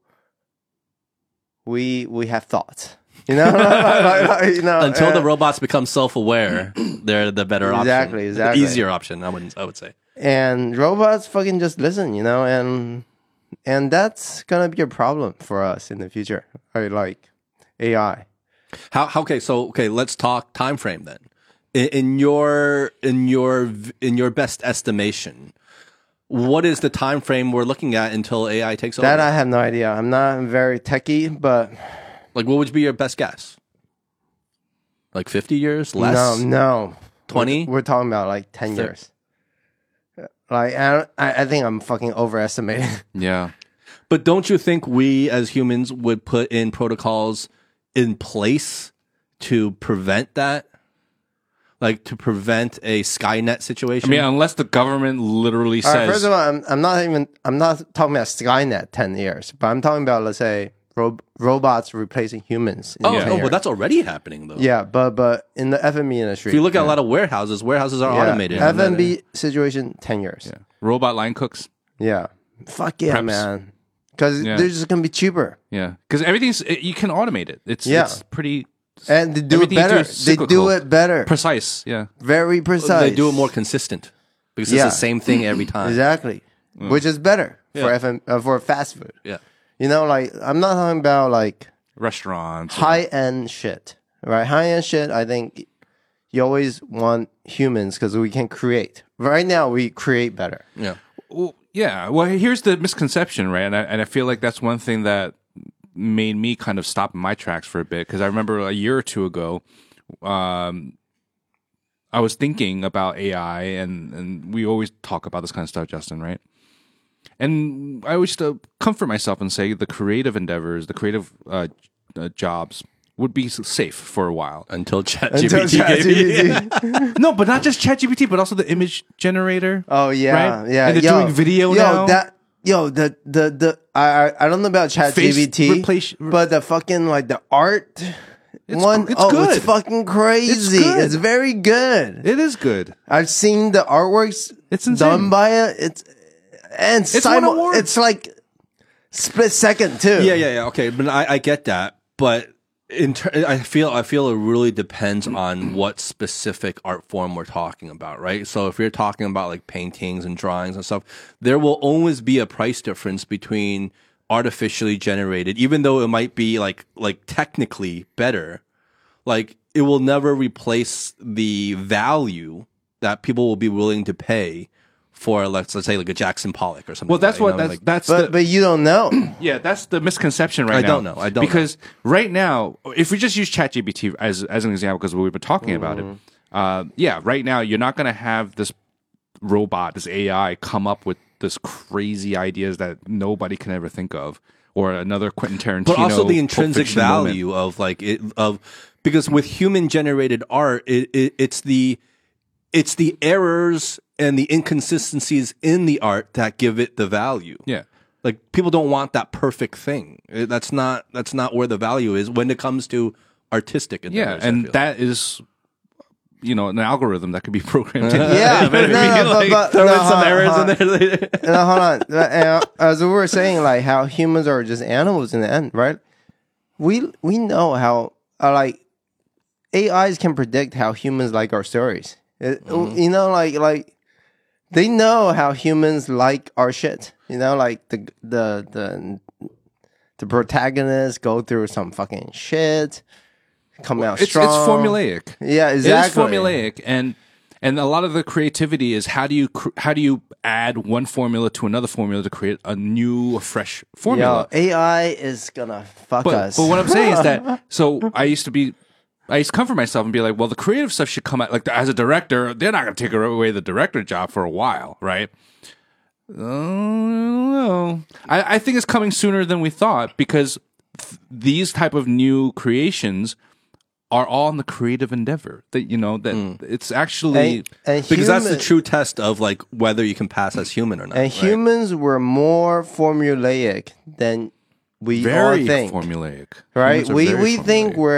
we we have thoughts. You know, like, like, like, you know, Until uh, the robots become self-aware, they're the better option. Exactly, exactly. The easier option, I wouldn't. I would say. and robots fucking just listen. You know, and and that's gonna be a problem for us in the future. Right, like A I. How, how? Okay, so okay, let's talk time frame then. In, in your in your v- in your best estimation, what is the time frame we're looking at until A I takes That over? I have no idea. I'm not very techie, but Like, what would be your best guess? Like fifty years, less, no, no. twenty? We're, we're talking about like ten years. Like I, don't- I, I think I'm fucking overestimating. Yeah. But don't you think we as humans would put in protocols in place to prevent that? Like to prevent a Skynet I situation? mean, unless the government literally All right, says, first of all, I'm, I'm not even. I'm not talking about Skynet ten years, but I'm talking about, let's say, ro- robots replacing humans. In oh, ten oh, years. but that's already happening though. yeah, but but in the F and B industry, If you look at a lot of warehouses, warehouses are yeah, automated. F and B situation, ten years. yeah, robot line cooks. Yeah, fuck yeah, Preps. man. Because Yeah. they're just gonna be cheaper, Yeah, because everything's it, you can automate it. It's Yeah. it's pretty and they do it Everything you do better. is They do cyclical. it better, precise. Yeah, very precise. They do it more consistent because Yeah. it's the same thing every time. exactly, which is better Yeah. for F M, uh, for fast food. Yeah. You know, like I'm not talking about like restaurants. high end shit, right? High end shit. I think you always want humans because we can create. Right now, we create better. Yeah. Well, yeah. Well, here's the misconception, right? And I, and I feel like that's one thing that made me kind of stop in my tracks for a bit because I remember a year or two ago, um, I was thinking about A I, and and we always talk about this kind of stuff, Justin, right? And I always uh, comfort myself and say the creative endeavors, the creative uh, uh, jobs would be s- safe for a while. Until Until ChatGPT gave you- ChatGPT. No, but not just ChatGPT, but also the image generator. Oh yeah, Right? yeah. And they're yo, doing video yo, now. That yo, the the the I I I don't know about Face ChatGPT, replace- but the fucking like the art It's- one, it's oh, good. it's fucking crazy. good. It's very good. It is good. I've seen the artworks It's insane. done by it. It's and It's won simul- awards. it's like split second too. Yeah, yeah, yeah. Okay, but I, I get that. But in ter- I feel I feel it really depends on what specific art form we're talking about, right? So if you're talking about like paintings and drawings and stuff, there will always be a price difference between artificially generated, even though it might be like like technically better. Like it will never replace the value that people will be willing to pay for, let's let's say like a Jackson Pollock or something. Well, that's like what that, you know, that's like- that's But the, but you don't know. yeah, that's the misconception right I now. don't know. I don't know. because right now, if we just use ChatGPT as as an example, because we've been talking about it, uh, yeah, right now you're not going to have this robot, this A I, come up with this crazy ideas that nobody can ever think of, or another Quentin Tarantino. but also the Pulp intrinsic Fiction moment. value of like it of because with human generated art it, it it's the it's the errors and the inconsistencies in the art that give it the value. Yeah. Like people don't want that perfect thing. It- that's not that's not where the value is when it comes to artistic Yeah, endeavors, I and feel. that is, you know, an algorithm that could be programmed. in. Yeah, But no, I mean, no, like, but, but throw no, in some hold- errors hold- in there. No, hold on. Uh, As we were saying, like how humans are just animals in the end, right? We we know how uh, like A Is can predict how humans like our stories. It- You know, like like they know how humans like our shit. You know, like the the the the protagonists go through some fucking shit, come out It's, strong. it's formulaic. Yeah, exactly. It is formulaic, and and a lot of the creativity is how do you cr- how do you add one formula to another formula to create a new, a fresh formula. Yo, A I is gonna fuck but, us. but what I'm saying is that so I used to be. I used to comfort myself and be like, well, the creative stuff should come out. Like, as a director, they're not going to take away the director job for a while, right? Uh, I don't know. I, I think it's coming sooner than we thought because th- these type of new creations are all in the creative endeavor. That you know that it's actually and, and Because that's the human- true test of like whether you can pass as human or not. And right? humans were more formulaic than we very all think, formulaic, right? Humans are We very we think formulaic. we're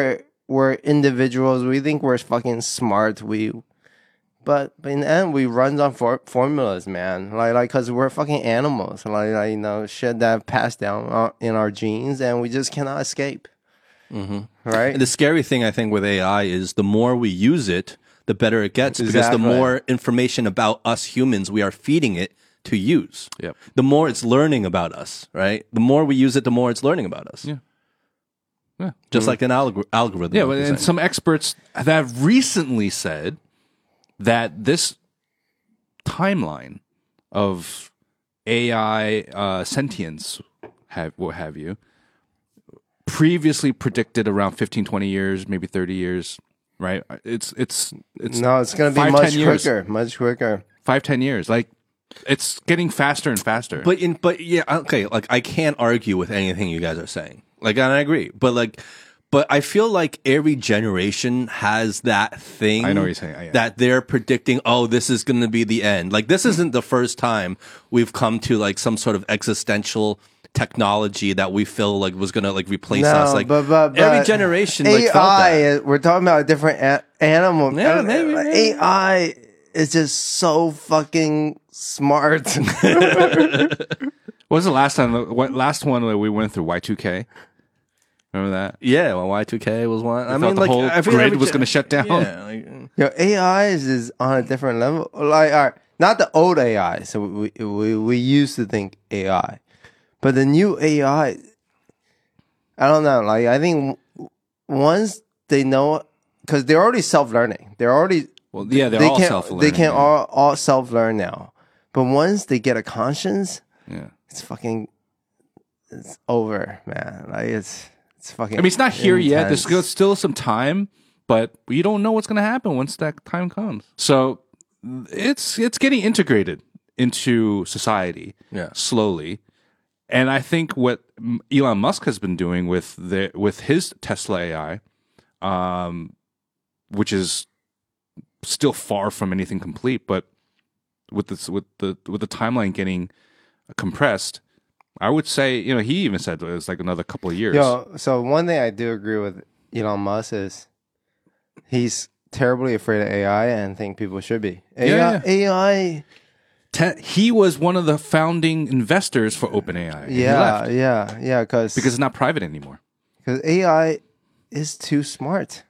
we're individuals. We think we're fucking smart. We, but, but in the end, we run on for, formulas, man. Like, like, cause we're fucking animals. Like, like, you know, shit that passed down uh, in our genes, and we just cannot escape. Mm-hmm. Right. And the scary thing, I think, with A I is the more we use it, the better it gets, because Exactly. the more information about us humans we are feeding it to use. Yep. The more it's learning about us, right? The more we use it, the more it's learning about us. Yeah. Yeah. Just like an algor- algorithm. Yeah, like but, you're and saying. some experts have recently said that this timeline of A I uh, sentience, have what have you, previously predicted around fifteen, twenty years, maybe thirty years, right? It's it's it's No, it's gonna be five, much ten years. quicker, much quicker. five, ten years. Like it's getting faster and faster. But in but yeah, okay, like I can't argue with anything you guys are saying. Like and I agree. But like but I feel like every generation has that thing I know what you're saying. Yeah. that they're predicting, oh, this is gonna be the end. Like this isn't the first time we've come to like some sort of existential technology that we feel like was gonna like replace No, us. Like but, but, but every generation like A I, felt that. is- we're talking about a different a- animal. Yeah, Uh, maybe, like, maybe. A I is just so fucking smart. What was the last time? What last one that we went through? Y two K. Remember that? Yeah, well, Y two K was one. I I mean, the like whole I feel grid every was gen- going to shut down. Yeah, like, Yo, A I is, is on a different level. Like, all right, not the old A I. So we we we used to think A I, but the new A I. I don't know. Like, I think w- once they know, because they're already self learning. They're already Well, yeah, they're they all can self-learning. they can yeah. all all self learn now. But once they get a conscience, Yeah. it's fucking it's over, man. Like it's it's fucking. I mean, it's not here yet. There's intense. still- still some time, but you don't know what's going to happen once that time comes. So it's it's getting integrated into society, Yeah. slowly. And I think what M- Elon Musk has been doing with the with his Tesla A I, um, which is still far from anything complete, but with this with the with the timeline getting compressed, I would say, you know, he even said it was like another couple of years. Yo, so one thing I do agree with Elon Musk is he's terribly afraid of A I and think people should be. A I, Yeah, A I, Te- he was one of the founding investors for OpenAI. and he yeah, left yeah, yeah, because because it's not private anymore. A I is too smart.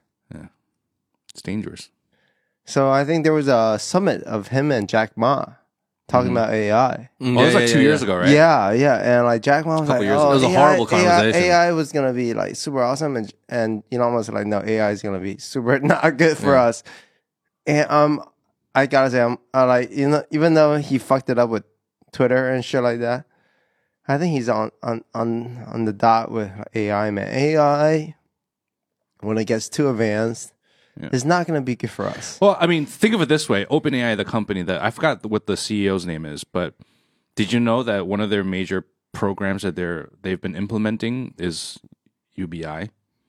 It's dangerous. So I think there was a summit of him and Jack Ma talking about A I. Mm, Oh, it was yeah, like yeah, two yeah, years yeah. ago, right? Yeah, yeah, and like Jack Ma was Couple like, years "Oh, ago. It was a A I horrible A I conversation. A I was gonna be like super awesome," and and Elon was like, "No, A I is gonna be super not good for Yeah. us." And um, I gotta say, I'm I like you know, even though he fucked it up with Twitter and shit like that, I think he's on on on on the dot with A I, man. A I, when it gets too advanced, Yeah. is not gonna be good for us. Well, I mean, think of it this way: OpenAI, the company that I forgot what the C E O's name is, but did you know that one of their major programs that they're they've been implementing is U B I?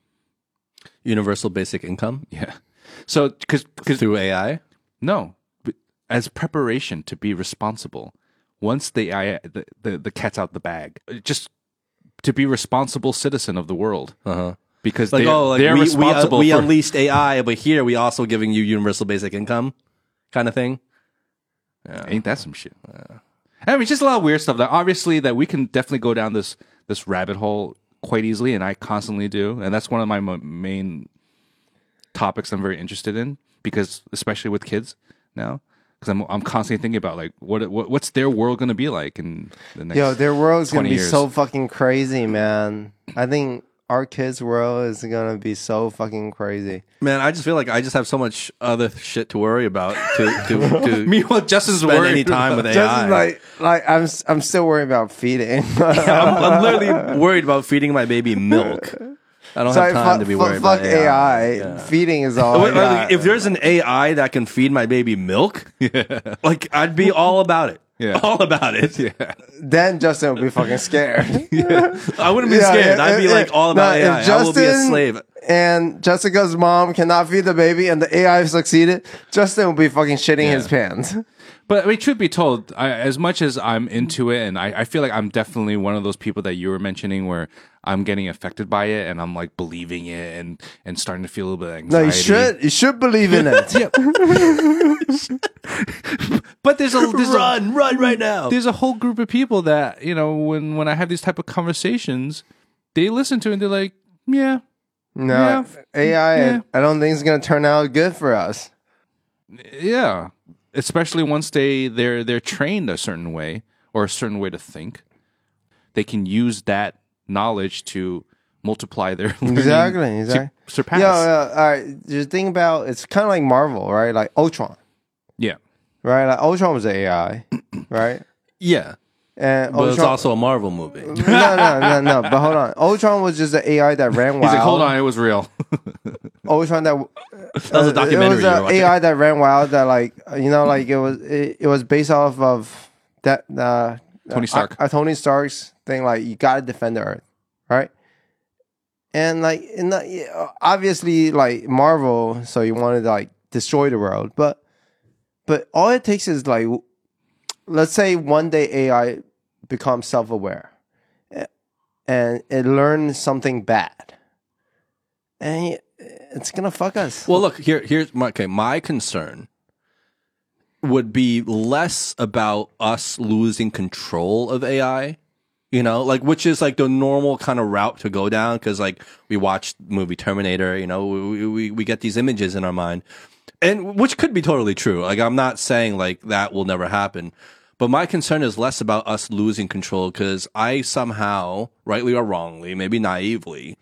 Universal basic income Yeah. So, because through A I. no, but as preparation to be responsible, once the A I the, the the cat's out the bag, just to be responsible citizen of the world, Uh huh. because Like they're, oh, like they're we we, uh, responsible we for unleashed A I, but here we also giving you universal basic income, kind of thing. Ain't that some shit? I mean, just a lot of weird stuff that obviously that we can definitely go down this this rabbit hole quite easily, and I constantly do, and that's one of my mo- main topics I'm very interested in because, especially with kids now, because I'm I'm constantly thinking about like what, what what's their world going to be like in the next. Yo, their world's gonna twenty be years. so fucking crazy, man. I think our kids' world is gonna be so fucking crazy. Man, I just feel like I just have so much other shit to worry about to to, to Meanwhile, Justin's spend worried any time with A I. Just like, like I'm, I'm still worried about feeding. I'm, I'm literally worried about feeding my baby milk. I don't So have time fuck, to be fuck- worried fuck about A I. A I. Yeah. Feeding is all. I Wait, wait, got. if there's an A I that can feed my baby milk, like I'd be all about it. Yeah. All about it. yeah. Then Justin would be fucking scared. I wouldn't be Yeah, scared. yeah, I'd be yeah, like all no, about if A I. I will be a Justin- slave. And Jessica's mom cannot feed the baby, and the A I succeeded. Justin will be fucking shitting his pants. But I mean, truth be told, I, as much as I'm into it, and I, I feel like I'm definitely one of those people that you were mentioning, where I'm getting affected by it, and I'm like believing it, and and starting to feel a little bit of No, anxiety. you should. You should believe in it. But there's a there's a, Run, run right now. there's a whole group of people that, you know, when when I have these type of conversations, they listen to it and they're like, yeah, No, Yeah. A I. Yeah. I don't think it's gonna turn out good for us. yeah. Especially once they they're they're trained a certain way or a certain way to think, they can use that knowledge to multiply their learning Exactly. to Exactly. surpass. Yeah, yeah. All right. Just think about. It's kind of like Marvel, right? Like Ultron, yeah. right? Like Ultron was A I, right? Yeah, And but it's Ultron, also a Marvel movie. no, no, no, no. But hold on. Ultron was just an A I that ran wild. He's like, hold on, it was real. Ultron that That was a documentary. It was you were an watching. A I that ran wild. That like you know, like it was it, it was based off of that uh, Tony Stark. uh, Tony Stark's thing. Like you got to defend the Earth, right? And like in the, yeah, obviously like Marvel, so you wanted to like destroy the world, but but all it takes is like let's say one day A I becomes self-aware a- and it learns something bad, and it's gonna fuck us. Well, look here. Here's my okay. My concern would be less about us losing control of A I, you know, like which is like the normal kind of route to go down because like we watched the movie Terminator, you know, we, we we get these images in our mind, and which could be totally true. Like I'm not saying like that will never happen, but my concern is less about us losing control because I somehow, rightly or wrongly, maybe naively,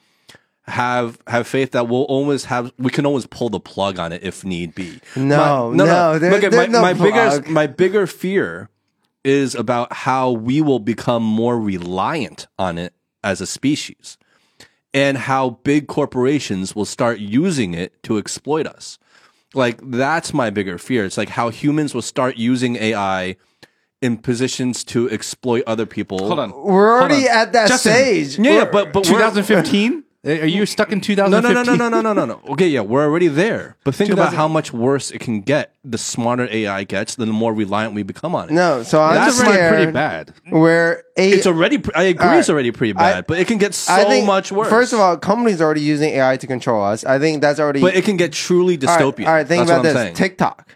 have have faith that we'll always have we can always pull the plug on it if need be. No, My- no, there- Look at there's my, no my bigger plug. my bigger fear is about how we will become more reliant on it as a species and how big corporations will start using it to exploit us. Like that's my bigger fear. It's like how humans will start using A I in positions to exploit other people. Hold on. We're already on. at that Justin, stage. Yeah, yeah, We're- but but we're- twenty fifteen? Are you stuck in no, twenty no, fifteen? no, no, no, no, no, no, no. Okay, yeah, we're already there. But think two about thousand how much worse it can get. The smarter A I gets, the more reliant we become on it. no, so I'm That's scared. already pretty bad. Where a, It's already. pre- I agree. All It's right. already pretty bad, I- but it can get so I think, much worse. First of all, companies are already using A I to control us. I think that's already. but it can get truly all right, dystopian. all right, think That's about what I'm this: saying. TikTok,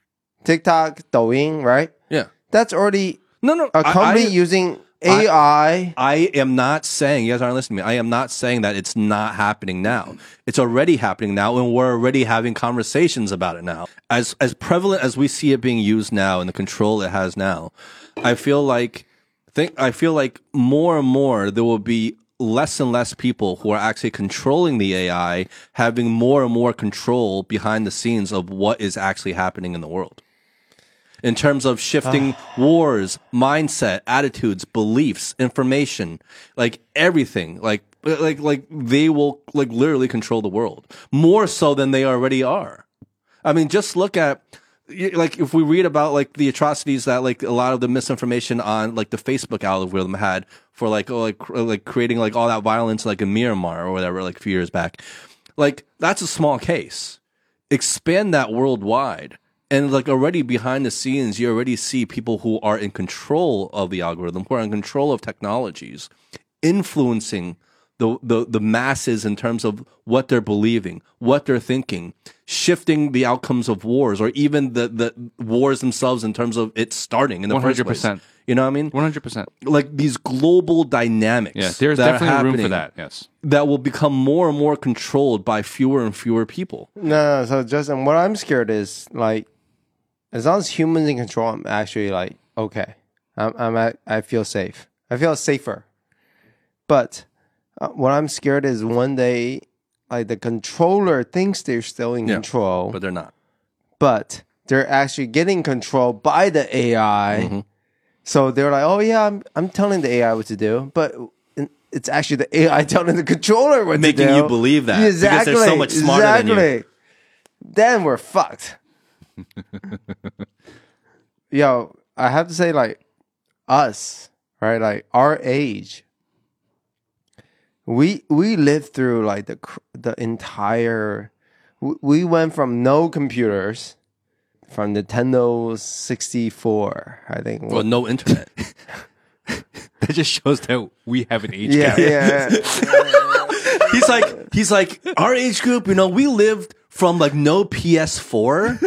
TikTok, Douyin, right? yeah. That's already No, no. a I- company I, using A I. I am not saying. You guys aren't listening to me. I am not saying that it's not happening now. It's already happening now, and we're already having conversations about it now. As as prevalent as we see it being used now, and the control it has now, I feel like think I feel like more and more there will be less and less people who are actually controlling the A I, having more and more control behind the scenes of what is actually happening in the world. In terms of shifting wars, mindset, attitudes, beliefs, information, like everything, like like like they will like literally control the world more so than they already are. I mean, just look at like if we read about like the atrocities that like a lot of the misinformation on like the Facebook algorithm had for like oh, like cr- like creating like all that violence like in Myanmar or whatever like a few years back, like that's a small case. Expand that worldwide. And like already behind the scenes, you already see people who are in control of the algorithm, who are in control of technologies, influencing the, the, the masses in terms of what they're believing, what they're thinking, shifting the outcomes of wars or even the, the wars themselves in terms of it starting in the one hundred first percent. place. You know what I mean? one hundred percent. Like these global dynamics. Yeah, there's that are definitely room for happening that. Yes. that will become more and more controlled by fewer and fewer people. No, no, so Justin, what I'm scared is like, as long as humans in control, I'm actually like okay. I'm, I'm at, I feel safe. I feel safer. But uh, what I'm scared is one day, like the controller thinks they're still in Yeah, control, But but, they're not. they're actually getting controlled by the A I. Mm-hmm. So they're like, oh yeah, I'm I'm telling the A I what to do, but it's actually the A I telling the controller what Making to do. you believe that, because they're exactly, so much smarter than you. exactly. Then we're fucked. Yo, I have to say, like us, right? Like our age, we we lived through like the cr- the entire. We, we went from no computers, from Nintendo sixty-four, I think. Well, no internet. That just shows that we have an age Yeah, gap. yeah. He's like, he's like, our age group, you know, we lived from like no P S four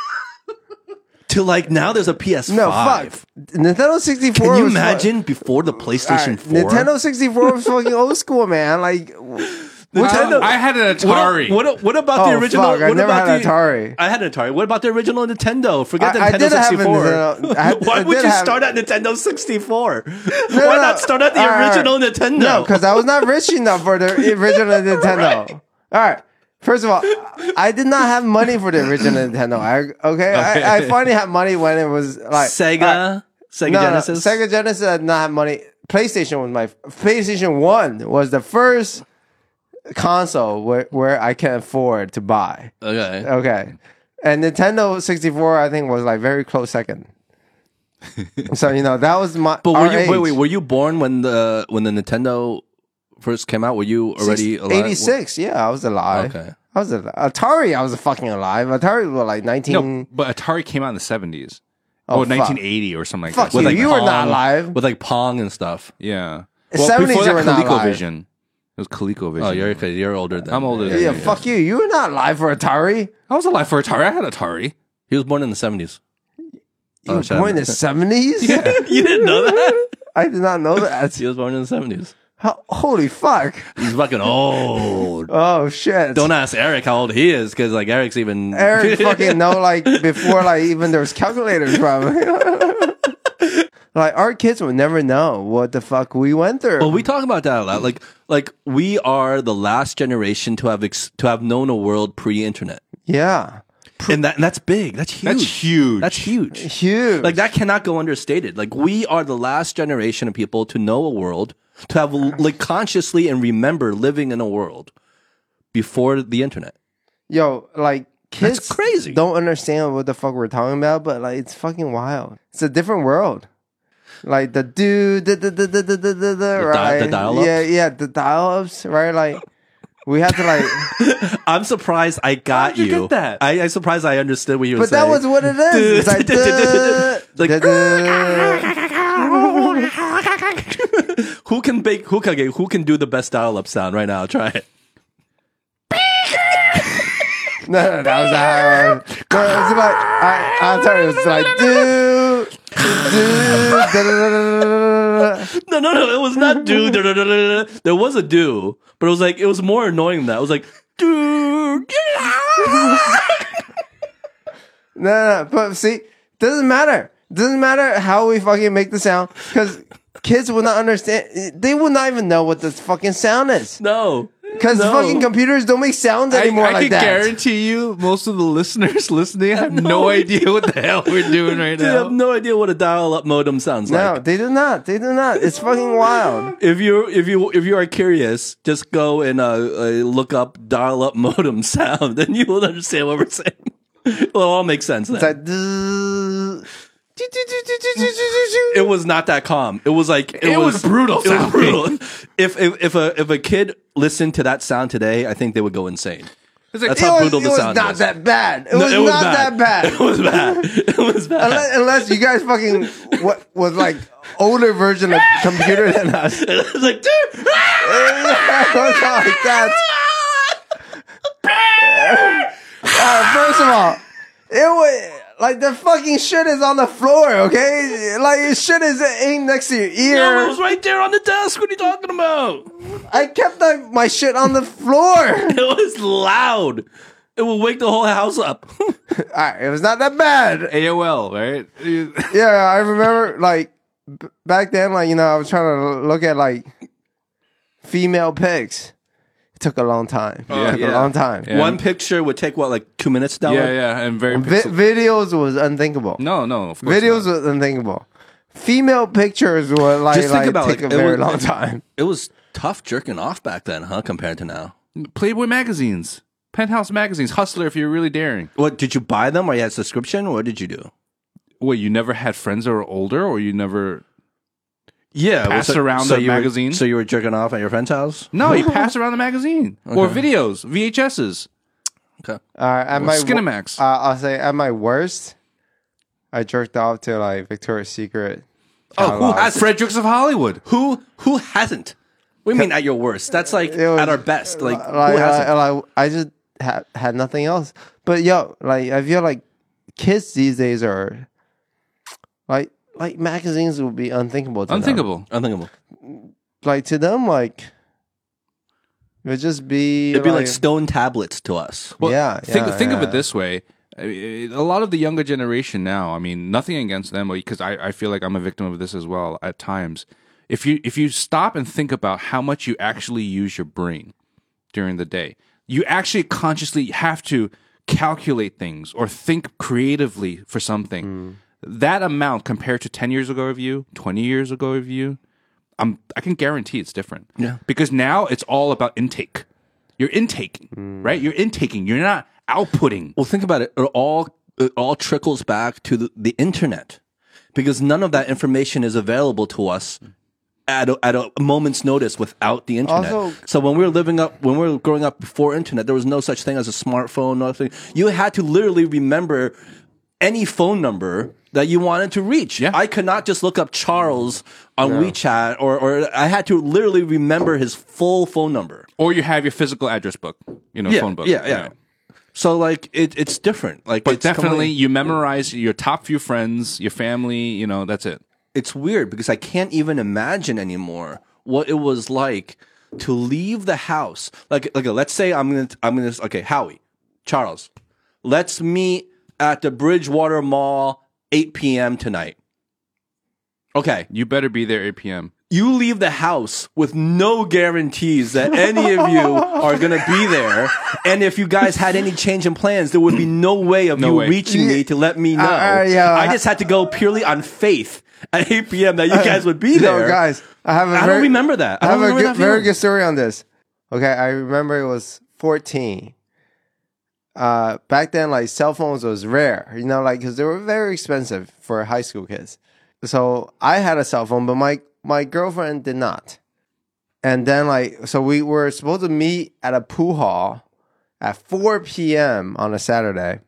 to like now there's a P S five. No, fuck. Nintendo sixty-four. Can you was fu- imagine before the PlayStation Alright, four? Nintendo sixty-four was fucking old school, man. Like, Nintendo- I had an What, Atari. what, what about the Oh, original? fuck, I what never about had the, Atari. I had an Atari. What about the original Nintendo? Forget I- I Nintendo did have a sixty-four. Nintendo- I had- Why I would did you have- start at Nintendo sixty-four? No, Why no, not start at the all right, original all right. Nintendo? No, because I was not rich enough for the original Nintendo. All right. First of all, I did not have money for the original Nintendo. I, okay, I, I finally had money when it was like Sega, all right. Sega No, no, Genesis. Sega Genesis I did not have money. PlayStation was my PlayStation One was the first console where, where I can afford to buy. Okay. Okay, and Nintendo sixty-four I think was like very close second. So you know that was my. But were our you age. wait wait were you born when the when the Nintendo first came out? Were you already alive? eighty-six? Yeah, I was alive. Okay. I was alive. Atari. I was fucking alive. Atari was like nineteen. No, but Atari came out in the seventies. Oh, Oh, fuck. nineteen eighty or something like Fuck that. you. like you were not Pong- alive. with like Pong and stuff. Yeah. seventies before you that, were not alive. ColecoVision. It was ColecoVision. Oh, you're okay. You're older than I'm older Yeah, than yeah, you. fuck you. You were not alive for Atari. I was alive for Atari. I had Atari. He was born in the seventies. You Oh, were shut born in up. the seventies? You didn't know that? I did not know that. He was born in the seventies. How, holy fuck. He's fucking old. Oh, shit. Don't ask Eric how old he is, because like Eric's even Eric fucking know, like, before, like, even there was calculators, probably. Like, our kids would never know what the fuck we went through. Well, we talk about that a lot. Like, like we are the last generation to have ex- to have known a world pre-internet, yeah. and that and that's big. That's huge. That's huge. That's huge. Huge. Like that cannot go understated. Like we are the last generation of people to know a world, to have like consciously and remember living in a world before the internet. Yo, like, kids That's crazy. don't understand what the fuck we're talking about, but, like, it's fucking wild. It's a different world. Like, the dude, the, the, the, the, the, the, the, the, right? the dial-ups? Yeah, yeah, the dial-ups, right? Like, we had to, like... I'm surprised I got How'd you get that? I, I'm surprised I understood what you were But saying. that was what it is. It's like, duh, Like- duh, duh. who can bake? Who can who can do the best dial-up sound right now? Try it. No, no, that was how. No, it's like I, I'm sorry. It was like do, do, da, da, da, da, da, da. No, no, no. It was not do. da, da, da, da, da. There was a do, but it was like it was more annoying than that. It was like do. Get out. No, no, no, but see, doesn't matter. Doesn't matter how we fucking make the sound because kids will not understand. They will not even know what the fucking sound is No, because no. fucking computers don't make sounds I, anymore I like can that. guarantee you, most of the listeners listening have no, no idea what the hell we're doing right They have now. no idea what a dial-up modem sounds No, like. they do not. They do not. It's fucking wild. If you if you if you are curious, just go and uh, uh, look up dial-up modem sound, and you will understand what we're saying. It'll all make sense then. It's like. duh. It was not that calm. It was like it, It was brutal It was sounding. brutal. If, if if a if a kid listened to that sound today, I think they would go insane. It's like, That's It how was, brutal it the was sound not was. that bad. It No, was it was not bad. that bad. It was bad. It was bad. Unless, unless you guys fucking what was like older version of computer than us. It was like, dude. It was not like that. Uh, first of all, it was like the fucking shit is on the floor, okay? Like shit is aimed next to your ear. No, it was right there on the desk. What are you talking about? I kept like, my shit on the floor. It was loud. It will wake the whole house up. Alright, it was not that bad. A O L, right? Yeah, I remember like b- back then, like, you know, I was trying to look at like female pics. It took a long time. Yeah, it took yeah. a long time. Yeah. One picture would take what, like two minutes to download? yeah, yeah, and very Vi- pixel- videos was unthinkable. No, no, of course Videos not. was unthinkable. Female pictures were like, Just think like about, take like, a it very was- long time. It was tough jerking off back then, huh? Compared to now. Playboy magazines, Penthouse magazines, Hustler. If you're really daring. What did you buy them, or you had subscription? What did you do? Wait, you never had friends that were older, or you never? Yeah, Pass around the you were- magazine? so you were jerking off at your friend's house? No, you pass around the magazine or Okay. videos, V H S's, Okay. Uh, at my wo- Skinamax. uh, I'll say at my worst, I jerked off to like Victoria's Secret Oh, who catalog. has Fredericks of Hollywood. Who who hasn't? What do you mean at your worst? That's like It was- at our best. Like, like, who hasn't? like, like, I just ha- had nothing else. But yo, like I feel like kids these days are like like magazines would be unthinkable. To them. Unthinkable. Unthinkable. Like to them, like it would just be. It'd be like stone tablets to us. Well, yeah, think yeah, think of yeah. it this way. I mean, a lot of the younger generation now, I mean, nothing against them, because I, I feel like I'm a victim of this as well at times. If you if you stop and think about how much you actually use your brain during the day, you actually consciously have to calculate things or think creatively for something. Mm. That amount compared to ten years ago of you, twenty years ago of you, I'm, I can guarantee it's different. Yeah. Because now it's all about intake. You're intaking, Mm. right? You're intaking. You're not outputting. Well, think about it. It all it all trickles back to the, the internet, because none of that information is available to us at a, at a moment's notice without the internet. Also- so when we were living up, when we were growing up before internet, there was no such thing as a smartphone. Nothing. You had to literally remember any phone number that you wanted to reach. Yeah. I could not just look up Charles on WeChat, or or I had to literally remember his full phone number. Or you have your physical address book, you know, Yeah, phone book. yeah, yeah. So like it, it's different. Like, But it's definitely, completely- you memorize your top few friends, your family. You know, that's it. it's weird because I can't even imagine anymore what it was like to leave the house. Like, like let's say I'm gonna, I'm gonna, okay, Howie, Charles, let's meet at the Bridgewater Mall, eight p.m. tonight. Okay, You better be there eight p.m. you leave the house with no guarantees that any of you are going to be there. And if you guys had any change in plans, there would be no way of No you way. reaching me to let me know. Uh, uh, yeah, I I- just had to go purely on faith at eight p.m. that you guys would be there. No, guys, I have a I very, don't remember that. I I have don't a remember good, that very feeling. good story on this. Okay, I remember it was fourteen. Uh, back then, like cell phones was rare, you know, like because they were very expensive for high school kids. So I had a cell phone, but my my girlfriend did not. And then, like, so we were supposed to meet at a pool hall at four p.m. on a Saturday.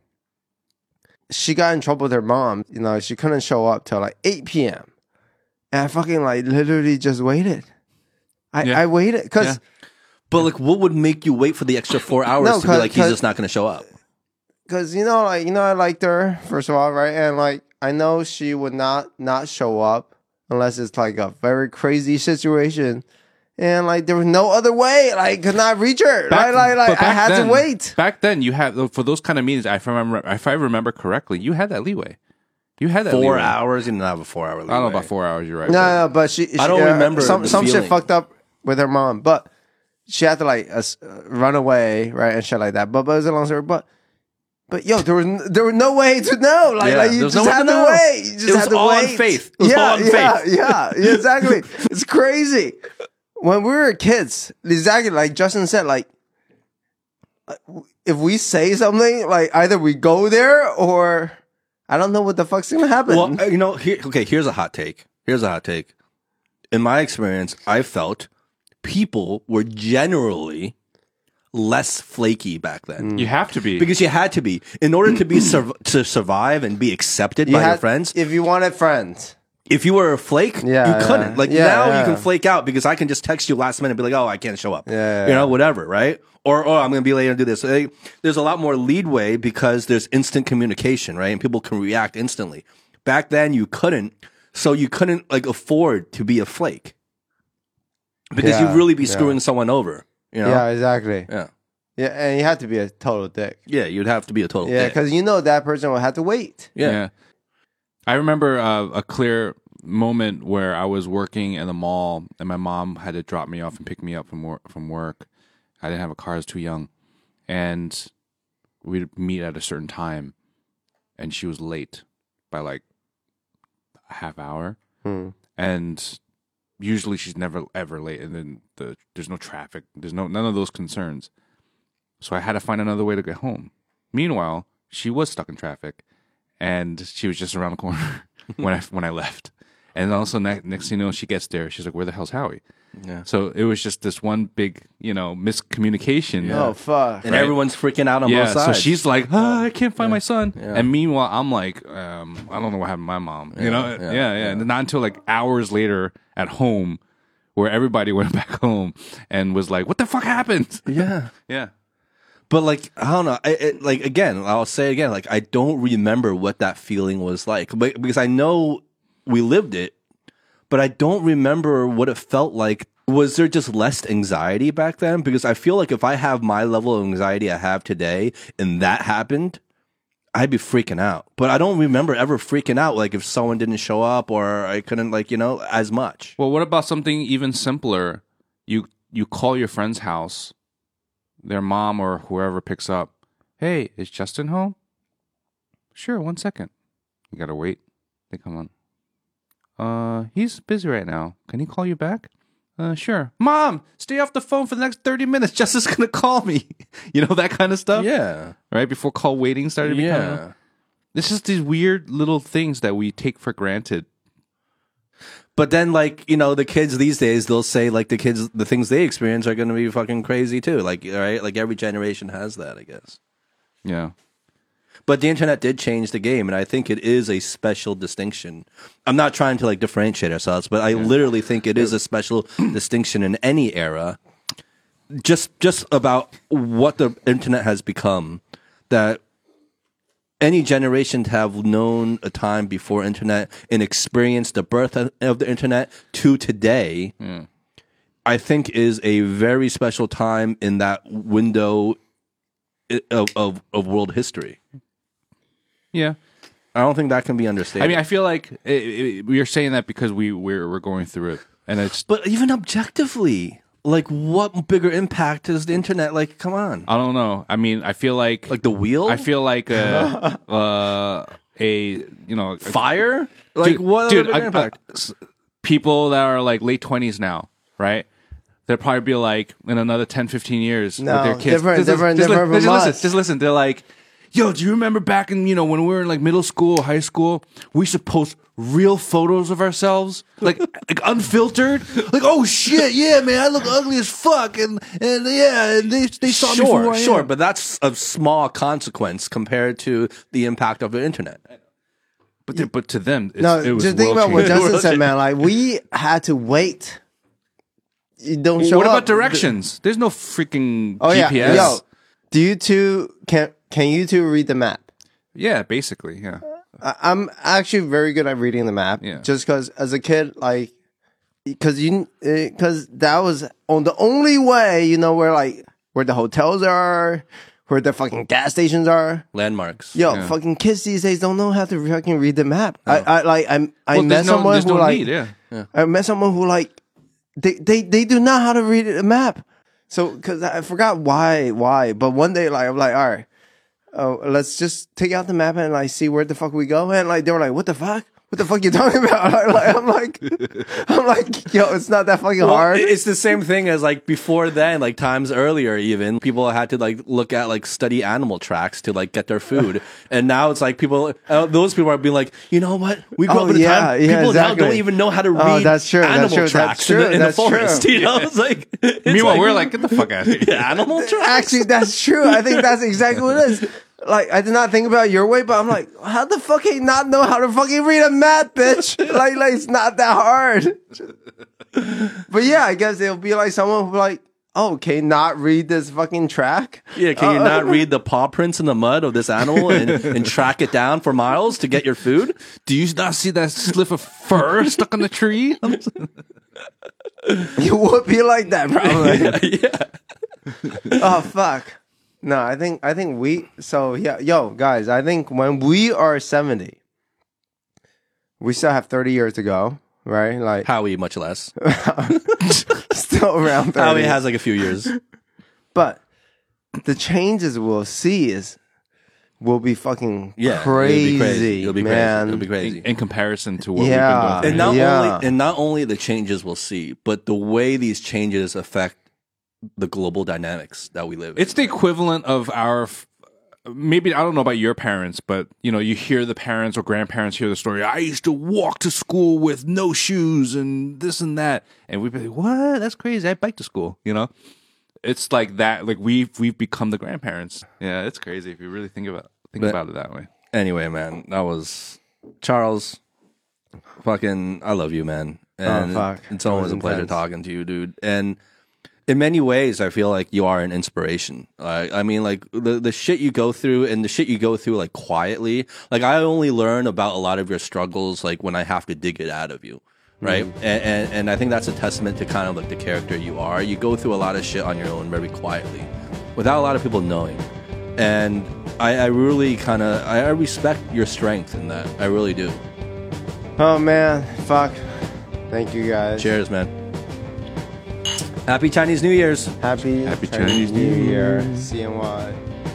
She got in trouble with her mom. You know, she couldn't show up till like eight p.m. And I fucking like literally just waited. I, Yeah. I waited because Yeah. But like, what would make you wait for the extra four hours No, to be 'cause- like, he's 'cause- just not going to show up? because you know, like you know, I liked her first of all, right? And like I know she would not not show up unless it's like a very crazy situation. And like there was no other way, like could not reach her. Back- right? Like, like but I back had then- to wait. Back then, you had for those kind of meetings. If I remember, if I remember correctly, you had that leeway. You had that Four leeway. hours? You didn't have a four hour leeway. I don't know about four hours. You're right. No, but- no, but she. she I don't uh, remember some the some shit feeling. fucked up with her mom, but she had to like uh, s- uh, run away, right, and shit like that. But but it was a long story. But but yo, there was n- there was no way to know. Like Yeah, like you there was just no way had to to know. wait. You just It was had to all on wait. faith. It was yeah, all on yeah, faith. Yeah, yeah, exactly. It's crazy. When we were kids, exactly like Justin said, like like, if we say something, like either we go there or I don't know what the fuck's gonna happen. Well, uh, you know, here, okay, here's a hot take. Here's a hot take. In my experience, I felt people were generally less flaky back then. you have to be. Because you had to be. In order to be sur- to survive and be accepted You by your had- friends, if you wanted friends. if you were a flake, Yeah, you couldn't. yeah. Like Yeah, now yeah. you can flake out because I can just text you last minute and be like, oh, I can't show up. Yeah, yeah, You know, yeah. whatever, right? Or, oh, I'm going to be late and do this. Like, there's a lot more leadway because there's instant communication, right? And people can react instantly. Back then you couldn't. So you couldn't like afford to be a flake because Yeah, you'd really be yeah. screwing someone over. You know? Yeah, exactly. Yeah. Yeah, and you have to be a total dick. Yeah, you'd have to be a total Yeah, dick. because you know that person will have to wait. Yeah. Yeah. I remember uh, a clear moment where I was working in the mall and my mom had to drop me off and pick me up from work. From work. I didn't have a car. I was too young. And we'd meet at a certain time. And she was late by like a half hour. Hmm. And usually she's never, ever late. And then the, there's no traffic. There's no none of those concerns. So I had to find another way to get home. Meanwhile, she was stuck in traffic. And she was just around the corner when I when I left, And also ne- next thing you know, she gets there. She's like, "Where the hell's Howie?" Yeah. So it was just this one big, you know, miscommunication. Oh fuck! And everyone's freaking out on Yeah, both sides. so she's like, ah, I can't find my son. Yeah. And meanwhile, I'm like, um, I don't know what happened to my mom. You know, yeah, yeah, yeah. yeah. And not until like hours later at home, where everybody went back home and was like, what the fuck happened? yeah. Yeah. But like I don't know, I, it, like again, I'll say again, like I don't remember what that feeling was like, but because I know we lived it, but I don't remember what it felt like. Was there just less anxiety back then? Because I feel like if I have my level of anxiety I have today, and that happened, I'd be freaking out. But I don't remember ever freaking out, like if someone didn't show up or I couldn't, like you know, as much. Well, what about something even simpler? You you call your friend's house, their mom or whoever picks up. Hey, is Justin home? Sure, one second. You gotta wait. They come on. Uh, he's busy right now. Can he call you back? Uh, sure. Mom, stay off the phone for the next thirty minutes. Justin's gonna call me. You know, that kind of stuff? Yeah, Right? Before call waiting started becoming. yeah. It's just these weird little things that we take for granted. But then, like you know, the kids these days, they'll say like the kids, the things they experience are going to be fucking crazy too. Like, right? Like every generation has that, I guess. Yeah. But the internet did change the game, and I think it is a special distinction. I'm not trying to like differentiate ourselves, but I literally think it is a special distinction in any era. Just, just about what the internet has become, that any generation to have known a time before internet and experienced the birth of of the internet to today, I think is a very special time in that window i- of, of, of world history. Yeah. I don't think that can be understated. I mean, I feel like it, it, we're saying that because we we're we're going through it, and it's. but even objectively, like, what bigger impact is the internet? Like, come on, I don't know. I mean, I feel like like the wheel, I feel like a uh, a you know a- fire, like dude, what dude, bigger I- I- impact? s- people that are like late twenties now, right? They'll probably be like in another ten, fifteen years No, with their kids. different- just, different- just, different just, from listen, us. just listen. They're like, yo, do you remember back in, you know, when we were in like middle school, high school, we used to post real photos of ourselves, like like unfiltered, like, oh shit, yeah, man, I look ugly as fuck, and and yeah, and they they saw me for who Sure, I sure, am. but that's a small consequence compared to the impact of the internet. But they- but to them, it's, No, it was just think about what world-changing. Justin said, man. Like we had to wait. You don't show What up. about directions? There's no freaking Oh G P S. yeah, yo, do you two can can you two read the map? Yeah, basically, yeah. I, I'm actually very good at reading the map. Yeah. Just because as a kid, like, because you because that was on the only way you know where like where the hotels are, where the fucking gas stations are. Landmarks. Yo, Yeah. fucking kids these days don't know how to fucking read the map. I, I like I I Well, met there's no, someone there's who no like need, yeah. I met someone who like they they they do not how to read a map. So because I forgot why why, but one day like I'm like all right, oh let's just take out the map and like see where the fuck we go, and like they were like what the fuck. What the fuck you talking about? Like, like, I'm like, I'm like, yo, it's not that fucking Well, hard. it's the same thing as like before then, like times earlier, even people had to like look at like study animal tracks to like get their food, and now it's like people, uh, those people are being like, you know what? We grew Oh, up in a yeah, time yeah, people now exactly. don't even know how to read Oh, that's true, that's animal true, that's tracks true, in the, in the that's true. forest. You know, it's like it's Meanwhile, like, we're like, get the fuck out of here. animal tracks. Actually, that's true. I think that's exactly what it is. Like, I did not think about it your way, but I'm like, how the fuck he not know how to fucking read a map, bitch? like, like it's not that hard. But yeah, I guess it'll be like someone who like, oh, can you not read this fucking track? Yeah, can you Uh, not read the paw prints in the mud of this animal and, and track it down for miles to get your food? Do you not see that slip of fur stuck on the tree? You would be like that, probably. yeah. Oh fuck. No, I think I think we so yeah, yo, guys, I think when we are seventy, we still have thirty years to go, right? Like Howie, much less. still around thirty. Howie has like a few years. But the changes we'll see is will be fucking Yeah, crazy, it'll be crazy. It'll be crazy. man. It'll be crazy. in, in comparison to what Yeah. we've been and going not through. Yeah. only and not only the changes we'll see, but the way these changes affect the global dynamics that we live in. It's the equivalent of our f- maybe I don't know about your parents, but you know, you hear the parents or grandparents hear the story. I used to walk to school with no shoes and this and that, and we'd be like, "What? That's crazy! I bike to school." You know, it's like that. Like we've we've become the grandparents. Yeah, it's crazy if you really think about think But- about it that way. Anyway, man, that was Charles. Fucking, I love you, man. And Oh, fuck. it's always That a was pleasure intense. talking to you, dude. And in many ways, I feel like you are an inspiration. Like, I mean, like the the shit you go through, and the shit you go through like quietly. Like I only learn about a lot of your struggles like when I have to dig it out of you, right? Mm-hmm. And, and and I think that's a testament to kind of like the character you are. You go through a lot of shit on your own very quietly, without a lot of people knowing. And I, I really kind of I, I respect your strength in that. I really do. Oh man, fuck. Thank you guys. Cheers, man. Happy Chinese New Year's. Happy, Happy Chinese Chinese New New Year. C N Y.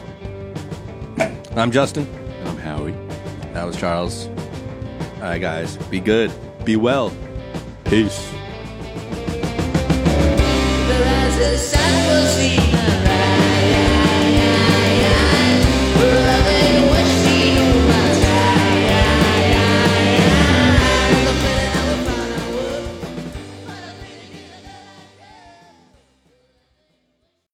I'm Justin. I'm Howie. That was Charles. All right, guys. Be good. Be well. Peace. But as the sun will see